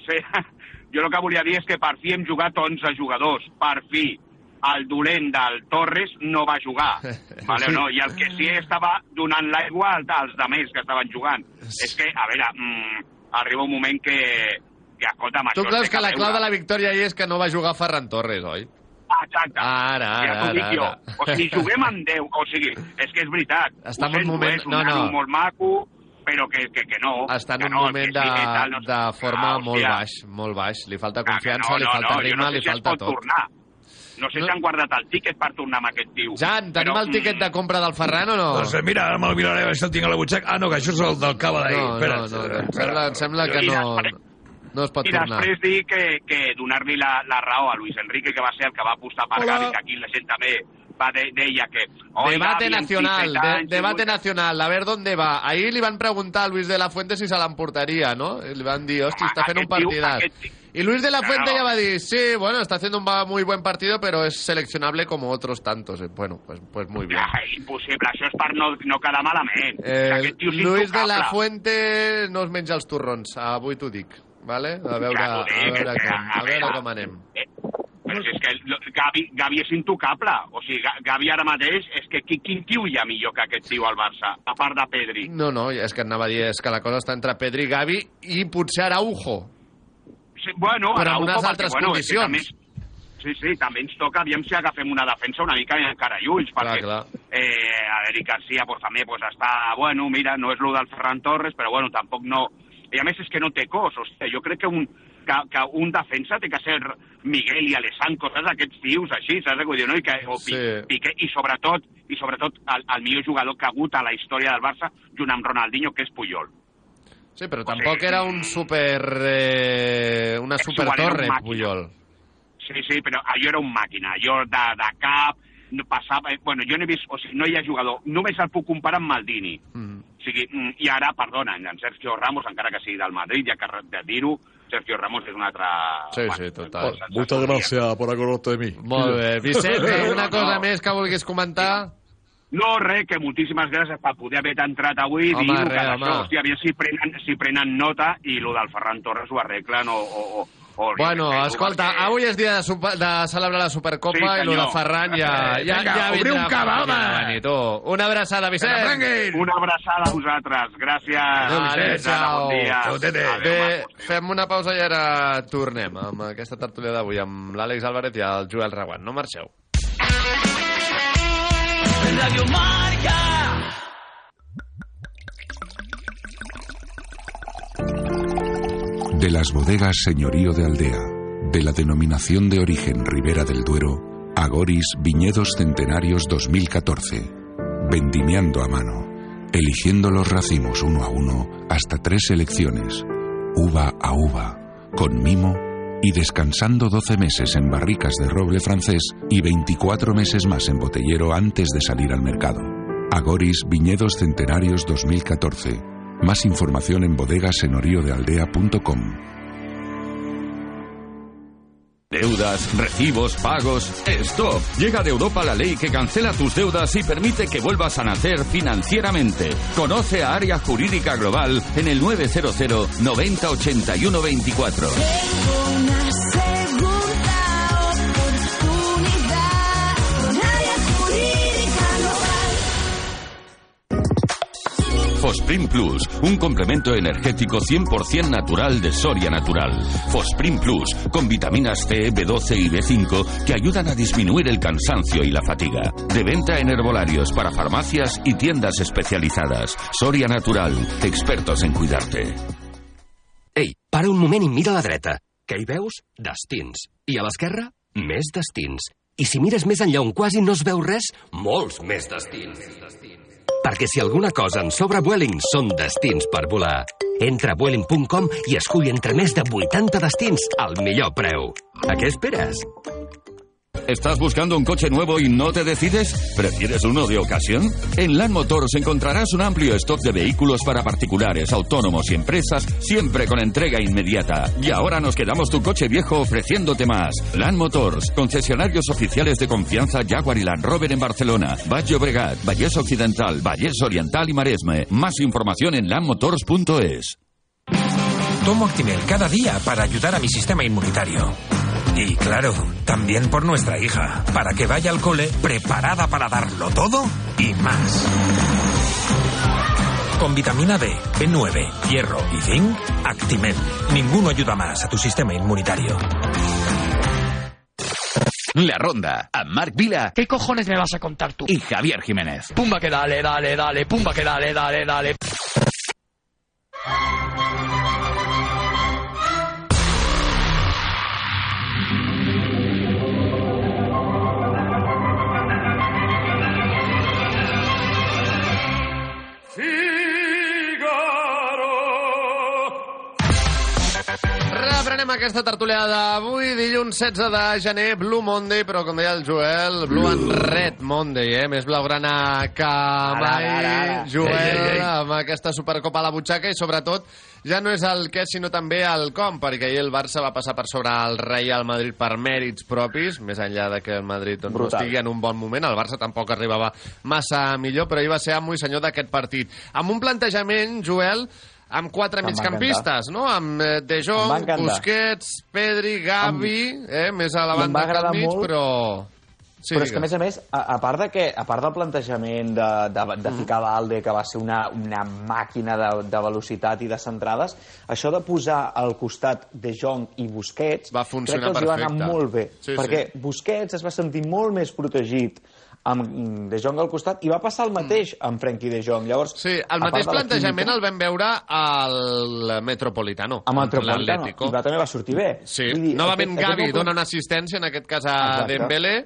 Speaker 2: Sí, jo el que volia dir és que per fi hem jugat 11 jugadors. Per fi. El dolent del Torres no va jugar. Vale, no? I el que sí estava donant l'aigua als demés que estaven jugant. És que, a veure, arriba un moment que escolta'm,
Speaker 7: tu creus que la clau de la victòria hi és que no va jugar Ferran Torres, oi?
Speaker 2: Exacte.
Speaker 7: Ara.
Speaker 2: O sigui, juguem amb 10. O sigui, és que és veritat.
Speaker 7: Està en un moment...
Speaker 2: És un nano molt maco, però que no.
Speaker 7: Està en un moment de forma molt baix. Li falta confiança, li falta ritme, li falta tot.
Speaker 2: No sé si han guardat el tíquet per tornar amb aquest tio.
Speaker 7: Jan, tenim el tíquet de compra del Ferran o no?
Speaker 9: Doncs mira, ara me'l miraré, a veure si el tinc a la butxaca. Ah, no, que això és el del cava d'ahir.
Speaker 7: No, em sembla que no es pot tornar.
Speaker 2: I després dir que donar-li la raó a Luis Enrique, que va ser el que va apostar per Gavi, que aquí la gent també deia que...
Speaker 7: Debate nacional, a ver dónde va. Ahir li van preguntar a Luis de la Fuente si se l'emportaria, ¿no? Li van dir, hosti, està fent un partidat. Y Luis de la Fuente ya va a decir, sí, bueno, está haciendo un muy buen partido, pero es seleccionable como otros tantos. Bueno, pues muy bien.
Speaker 2: Impossible, això és per no quedar malament.
Speaker 7: Luis de la Fuente no es menja els torrons, avui t'ho dic, vale? A veure com anem.
Speaker 2: Però és que Gavi és intocable. O sigui, Gavi ara mateix és que quin tio hi ha millor que aquest tio al Barça, a part de Pedri?
Speaker 7: No, és que anava a dir, és que la cosa està entre Pedri, Gavi i potser Araujo.
Speaker 2: Sí, bueno,
Speaker 7: però en unes altres condicions.
Speaker 2: Sí, també ens toca, aviam si agafem una defensa una mica encara i ulls, perquè Eric García també està, bueno, mira, no és lo del Ferran Torres, però bueno, tampoc no... I a més és que no té cos, hòstia, jo crec que un defensa té que ser Miguel i Alessandro, saps, aquests tios així, saps què vull dir, no? Piqué, i sobretot el millor jugador que ha hagut a la història del Barça, junt amb Ronaldinho, que és Puyol.
Speaker 7: Sí, però tampoc era una super torre, Puyol.
Speaker 2: Sí, però allò era un màquina, allò de cap, passava... Bueno, jo no he vist... O sigui, no hi ha jugador. Només el puc comparar amb Maldini. O sigui, i ara, perdona, en Sergio Ramos, encara que sigui del Madrid, ja que de dir-ho, Sergio Ramos és un altre...
Speaker 7: Sí, total.
Speaker 9: Muchas gracias por acordarte de mí.
Speaker 7: Molt bé. Vicent, una cosa més que vulguis comentar?
Speaker 2: No, que moltíssimes gràcies per poder haver entrat avui i dir que això, hòstia, aviam si prenen nota i lo del Ferran Torres ho arreglen
Speaker 7: Bueno, escolta, avui és dia de celebrar la Supercopa i lo de Ferran ja vindrà.
Speaker 9: Obri un cava, home!
Speaker 7: Una abraçada, Vicent!
Speaker 2: Una abraçada a vosaltres, gràcies!
Speaker 7: Adéu,
Speaker 2: bon dia!
Speaker 7: Bé, fem una pausa i ara tornem amb aquesta tertúlia d'avui amb l'Àlex Álvarez i el Joel Reguant. No marxeu.
Speaker 22: Radio Marca.
Speaker 3: De las bodegas Señorío de Aldea, de la denominación de origen Ribera del Duero, Agoris Viñedos Centenarios 2014. Vendimiando a mano, eligiendo los racimos uno a uno hasta 3 selecciones, uva a uva, con mimo y descansando 12 meses en barricas de roble francés y 24 meses más en botellero antes de salir al mercado. Agoris Viñedos Centenarios 2014. Más información en bodegasenorioddealdea.com.
Speaker 11: Deudas, recibos, pagos... ¡Stop! Llega de Europa la ley que cancela tus deudas y permite que vuelvas a nacer financieramente. Conoce a Área Jurídica Global en el 900 90 81 24. Fosprin Plus, un complemento energético 100% natural de Soria Natural. Fosprin Plus, con vitaminas C, B12 y B5 que ayudan a disminuir el cansancio y la fatiga. De venta en herbolarios para farmacias y tiendas especializadas. Soria Natural, expertos en cuidarte.
Speaker 5: Ei, para un moment i mira a la dreta. Què hi veus? Destins. I a l'esquerra? Més destins. I si mires més enllà on quasi no es veu res, molts més destins. Perquè si alguna cosa en sobra Vueling són destins per volar. Entra a Vueling.com i escull entre més de 80 destins al millor preu. ¿A qué esperas?
Speaker 11: ¿Estás buscando un coche nuevo y no te decides? ¿Prefieres uno de ocasión? En Land Motors encontrarás un amplio stock de vehículos para particulares, autónomos y empresas, siempre con entrega inmediata. Y ahora nos quedamos tu coche viejo ofreciéndote más. Land Motors, concesionarios oficiales de confianza Jaguar y Land Rover en Barcelona, Baix Llobregat, Vallès Occidental, Vallès Oriental y Maresme. Más información en landmotors.es.
Speaker 6: Tomo Actimel cada día para ayudar a mi sistema inmunitario. Y claro, también por nuestra hija, para que vaya al cole preparada para darlo todo y más. Con vitamina D, B9, hierro y zinc, Actimel. Ninguno ayuda más a tu sistema inmunitario.
Speaker 15: La Ronda, a Marc Vila.
Speaker 10: ¿Qué cojones me vas a contar tú?
Speaker 15: Y Javier Jiménez.
Speaker 10: Pumba que dale, pumba que dale.
Speaker 7: Reprenem aquesta tertúlia d'avui, dilluns 16 de gener, Blue Monday, però com deia el Joel, Blue and Red Monday, més blaugrana que mai. Joel, amb aquesta Supercopa a la butxaca, i sobretot ja no és el què, sinó també el com, perquè ahir el Barça va passar per sobre el Real Madrid per mèrits propis, més enllà de que el Madrid doncs, no estigui en un bon moment. El Barça tampoc arribava massa millor, però ahir va ser amo i senyor d'aquest partit. Amb un plantejament, Joel, amb 4 migcampistes, no? Amb De Jong, Busquets, Pedri, Gavi, més a la banda que al mig, però... Sí,
Speaker 28: però és que, a més, a part del plantejament de ficar Valde, que va ser una màquina de velocitat i de centrades, això de posar al costat De Jong i Busquets
Speaker 7: va funcionar
Speaker 28: crec que els va anar molt bé, perquè Busquets es va sentir molt més protegit amb De Jong al costat, i va passar el mateix amb Frenkie De Jong. Llavors,
Speaker 7: sí, el mateix plantejament el vam veure al Metropolitano.
Speaker 28: A Metropolitano, i també va sortir bé.
Speaker 7: Sí, novament Gavi dona una assistència, en aquest cas a Dembélé,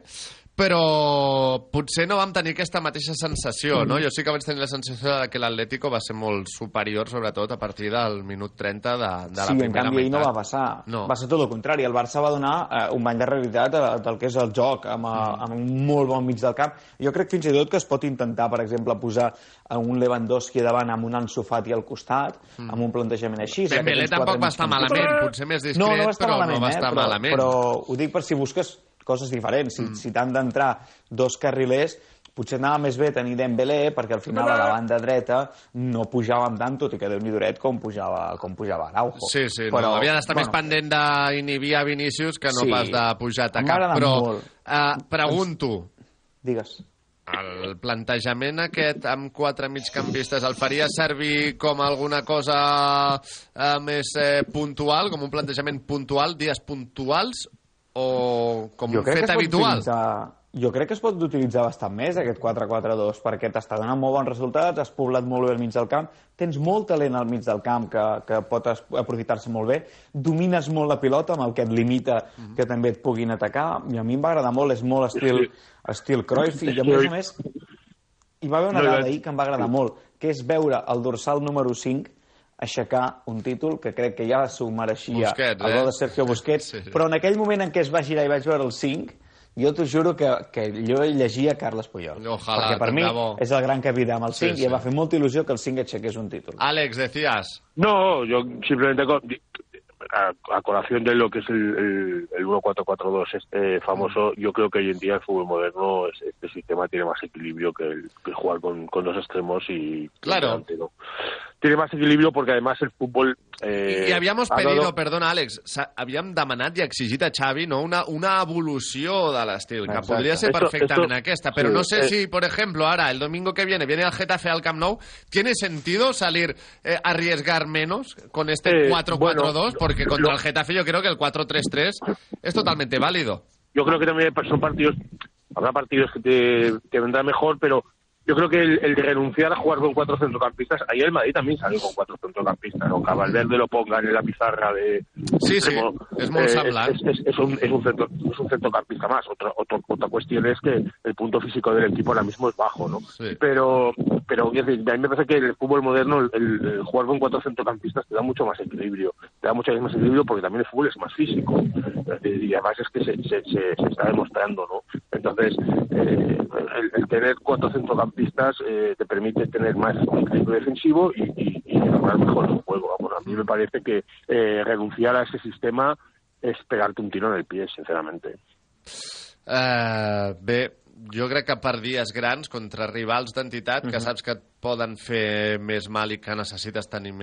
Speaker 7: però potser no vam tenir aquesta mateixa sensació, no? Jo sí que vaig tenir la sensació que l'Atlético va ser molt superior, sobretot a partir del minut 30 de la primera meitat. Sí, en canvi
Speaker 28: no va passar. Va ser tot el contrari. El Barça va donar un bany de realitat del que és el joc, amb un molt bon mig del camp. Jo crec fins i tot que es pot intentar, per exemple, posar un Lewandowski davant amb un Ansu Fati al costat, amb un plantejament així.
Speaker 7: Dembélé tampoc va estar malament, potser més discret, però no va estar malament.
Speaker 28: Però ho dic per si busques coses diferents. Si t'han d'entrar dos carrilers, potser anava més bé tenir Dembélé, perquè al final a la banda dreta no pujàvem tant, tot i que Déu-n'hi duret com pujava Araujo.
Speaker 7: Sí, però havia d'estar més pendent d'inhibir a Vinícius que no pas de pujar a atacar. Però pregunto...
Speaker 28: Digues.
Speaker 7: El plantejament aquest amb 4 migcampistes el faria servir com alguna cosa més puntual, com un plantejament puntual, dies puntuals, o com un fet habitual?
Speaker 28: Jo crec que es pot utilitzar bastant més aquest 4-4-2, perquè t'està donant molt bons resultats, has poblat molt bé al mig del camp, tens molt talent al mig del camp que pot aprofitar-se molt bé, domines molt la pilota amb el que et limita que també et puguin atacar, i a mi em va agradar molt, és molt estil Cruyff, i a més hi va haver una dada ahir que em va agradar molt, que és veure el dorsal número 5 aixecar un títol que crec que ja s'ho mereixia el gol de Sergio Busquets, però en aquell moment en què es va girar i vaig veure el 5, jo t'ho juro que jo llegia Carles Puyol, perquè per mi és el gran capità amb el 5 i em va fer molta il·lusió que el 5 aixequés un títol.
Speaker 7: Alex, decías.
Speaker 1: No, yo simplemente a colación de lo que es el 1-4-4-2 famoso, yo creo que hoy en día el fútbol moderno, este sistema tiene más equilibrio que jugar con dos extremos y
Speaker 7: claro.
Speaker 1: Tiene más equilibrio porque además el fútbol...
Speaker 7: I havíamos pedido, perdona Àlex, havíem demanat i exigit a Xavi una evolució de l'estil, que podria ser perfectament aquesta, però no sé si, por ejemplo, ahora, el domingo que viene el Getafe al Camp Nou, ¿tiene sentido salir arriesgar menos con este 4-4-2? Porque contra el Getafe yo creo que el 4-3-3 es totalmente válido.
Speaker 1: Yo creo que también son partidos, habrá partidos que te vendrán mejor, pero yo creo que el de renunciar a jugar con 4 centrocampistas, ayer el Madrid también salió con 4 centrocampistas, ¿no? Que a Valverde lo pongan en la pizarra de...
Speaker 7: Sí, es muy semblant.
Speaker 1: Es un centrocampista más. Otra cuestión es que el punto físico del equipo ahora mismo es bajo, ¿no? Sí. Pero a mí me parece que el fútbol moderno, el jugar con 4 centrocampistas te da mucho más equilibrio. Te da mucho más equilibrio porque también el fútbol es más físico. Y además es que se está demostrando, ¿no? Entonces, el tener 4 centrocampistas te permite tener más equilibrio defensivo y lograr mejor el juego. Bueno, a mí me parece que renunciar a ese sistema es pegarte un tiro en el pie, sinceramente.
Speaker 7: Bé, jo crec que per dies grans contra rivals d'entitat que saps que et poden fer més mal i que necessites tenir més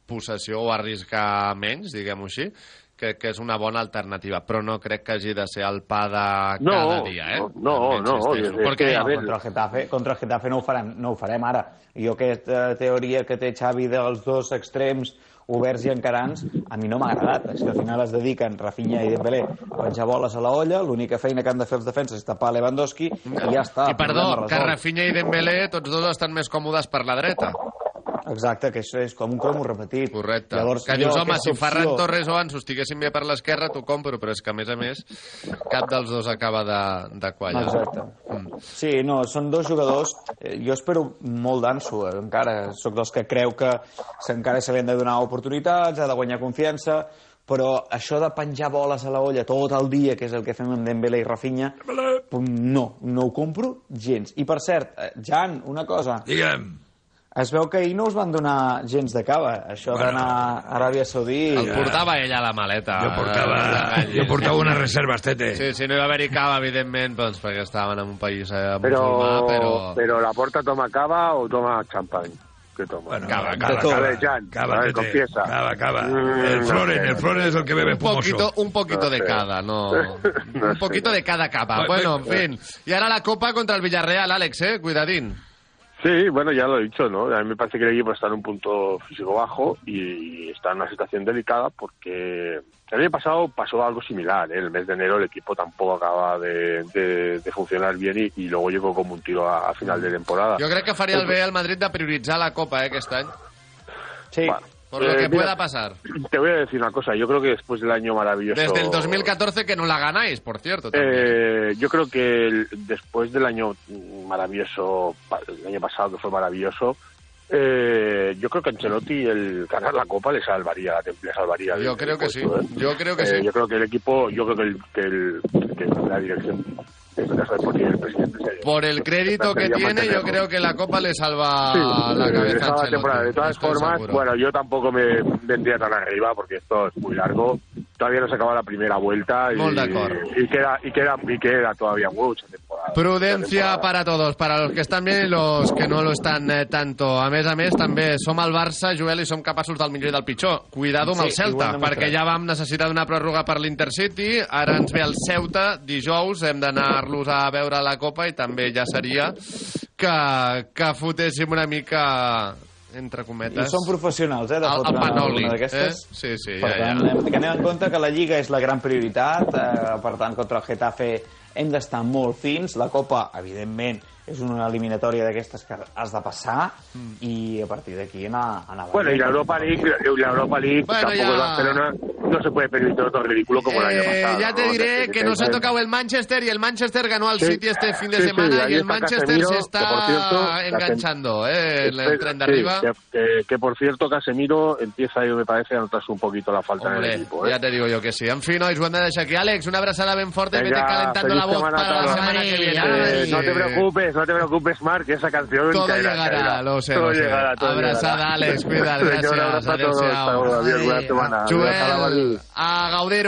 Speaker 7: possessió o arriscar menys, diguem-ho així, crec que és una bona alternativa, però no crec que hagi de ser el pa de cada dia,
Speaker 28: No.
Speaker 7: Perquè
Speaker 28: Contra el Getafe no ho farem ara. Jo aquesta teoria que té Xavi dels dos extrems oberts i encarants, a mi no m'ha agradat. És que al final es dediquen Rafinha i Dembélé a penjar boles a la olla, l'única feina que han de fer els defenses és tapar Lewandowski i ja està.
Speaker 7: I perdó, que Rafinha i Dembélé tots dos estan més còmodes per la dreta.
Speaker 28: Exacte, que això és com un cromo repetit.
Speaker 7: Correcte.
Speaker 28: Llavors,
Speaker 7: que dius, home, si Ferran Torres o Ansu estiguessin bé per l'esquerra, t'ho compro, però és que, a més, cap dels dos acaba de quallar.
Speaker 28: Exacte. Sí, no, són dos jugadors... Jo espero molt d'Ansu, encara. Soc dels que creu que encara se li han de donar oportunitats, ha de guanyar confiança, però això de penjar boles a la olla tot el dia, que és el que fem amb Dembélé i Rafinha, no ho compro gens. I, per cert, Jan, una cosa...
Speaker 9: Digue'm.
Speaker 28: Es veu que ahir no us van donar gens de cava, això d'anar a Aràbia Saudí...
Speaker 7: El portava ella a la maleta.
Speaker 9: Jo portava unes reserves, tete.
Speaker 7: Sí, no hi va haver-hi cava, evidentment, doncs, perquè estaven en un país musulmà,
Speaker 1: Pero la Porta toma cava o toma champán. ¿Qué toma?
Speaker 9: Bueno,
Speaker 1: cava,
Speaker 9: Jan.
Speaker 1: Cava, confiesa.
Speaker 9: Cava. El Floren es el que bebe espumoso.
Speaker 7: Un poquito de cada, no. Un poquito de cada cava. Bueno, en fin. Y ahora la Copa contra el Villarreal, Alex, cuidadín.
Speaker 1: Sí, bueno, ya lo he dicho, ¿no? A mí me parece que el equipo está en un punto físico bajo y está en una situación delicada porque el año pasado pasó algo similar, ¿eh? El mes de enero el equipo tampoco acaba de funcionar bien y luego llegó como un tiro a final de temporada.
Speaker 7: Yo creo que faria el bé al Madrid de prioritzar la Copa, aquest any.
Speaker 28: Sí.
Speaker 1: Bueno,
Speaker 7: por lo que pueda pasar.
Speaker 1: Te voy a decir una cosa, yo creo que después del año maravilloso...
Speaker 7: Desde el 2014 que no la ganáis, por cierto.
Speaker 1: Yo creo que después del año maravilloso, el año pasado que fue maravilloso, yo creo que Ancelotti el ganar la Copa le salvaría.
Speaker 7: Yo creo que sí. Yo creo que sí.
Speaker 1: Yo creo que el equipo, que la dirección...
Speaker 7: Por el crédito que tiene, yo creo que la Copa le salva la cabeza a Ancelotti.
Speaker 1: De todas formas, bueno, yo tampoco me vendría tan arriba porque esto es muy largo. Todavía no se acaba la primera vuelta y queda todavía mucha temporada.
Speaker 7: Prudencia para todos, para los que están bien y los que no lo están tanto. A més, també som el Barça, Joel, i som capaços del millor i del pitjor. Cuidado amb el Celta, perquè ja vam necessitar una pròrroga per l'Intercity, ara ens ve el Ceuta, dijous hem d'anar-los a veure la Copa i també ja seria que fotéssim una mica... entre cometes.
Speaker 28: I són professionals, de
Speaker 7: fotre el panoli,
Speaker 28: una d'aquestes.
Speaker 7: Sí,
Speaker 28: per tant, que anem en compte que la Lliga és la gran prioritat, per tant, contra el Getafe hem d'estar molt fins. La Copa, evidentment, és una eliminatòria d'aquestes que has de passar i a partir d'aquí anar...
Speaker 1: Bueno, y la Europa League
Speaker 7: bueno,
Speaker 1: tampoco el Barcelona no se puede permitir otro ridículo como el año pasado.
Speaker 7: Ya te diré que nos ha tocado el Manchester y el Manchester ganó al City este fin de semana y el Manchester Casemiro, se está enganchando en el tren de arriba.
Speaker 1: Que por cierto, Casemiro empieza, yo me parece, a notarse un poquito la falta en el equipo.
Speaker 7: Ya te digo yo que sí. En fin, hoy Juan de deixar aquí. Àlex, una abrazada ben forta y vete calentando la voz para la semana que viene.
Speaker 1: No te preocupes, Marc, esa canción
Speaker 7: todo llegará, lo sé. Todo llegará. Abrazada, Àlex, cuida't, gràcies.
Speaker 1: Adéu-siau.
Speaker 7: Joel, a gaudir